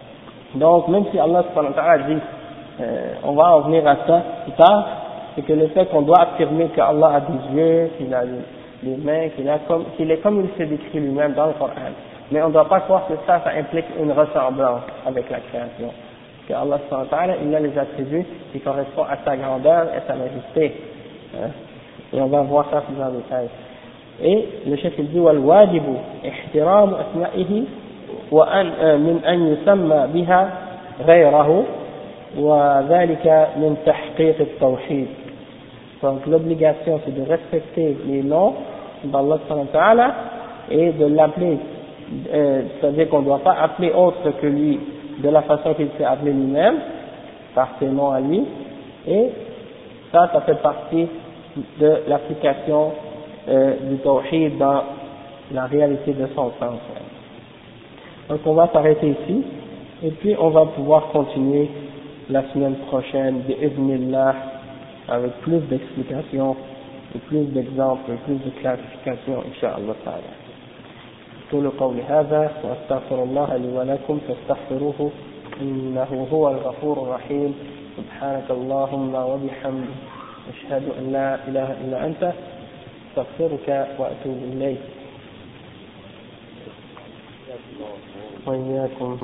Donc même si Allah subhanahu wa ta'ala dit, euh, on va en venir à ça plus tard, c'est que le fait qu'on doit affirmer qu'Allah a des yeux, qu'il a des mains, qu'il a comme, qu'il est comme il s'est décrit lui-même dans le Coran. Mais on ne doit pas croire que ça, ça implique une ressemblance avec la création. que Allah subhanahu wa ta'ala, il a les attributs qui correspondent à sa grandeur et sa majesté. Hein? Et on va voir ça plus en détail. Et le chef il dit والواجب احترام أسمائه وأن من أن يسمى بها غيره وذلك من تحقيق التوحيد. Donc l'obligation c'est de respecter les noms d'Allah subhanahu wa ta'ala et de l'appeler, euh, c'est-à-dire qu'on ne doit pas appeler autre que lui de la façon qu'il s'est appelé lui-même, par ses noms à lui, et ça, ça fait partie de l'application euh, du tawhid dans la réalité de son sens. Donc on va s'arrêter ici, et puis on va pouvoir continuer la semaine prochaine, bi'idhnillah, avec plus d'explications, et plus d'exemples, et plus de clarifications, incha'Allah ta'ala. أقول قولي هذا وأستغفر الله لي ولكم فاستغفروه إنه هو الغفور الرحيم. سبحانك اللهم وبحمدك أشهد أن لا إله إلا أنت أستغفرك وأتوب إليك. وإياكم.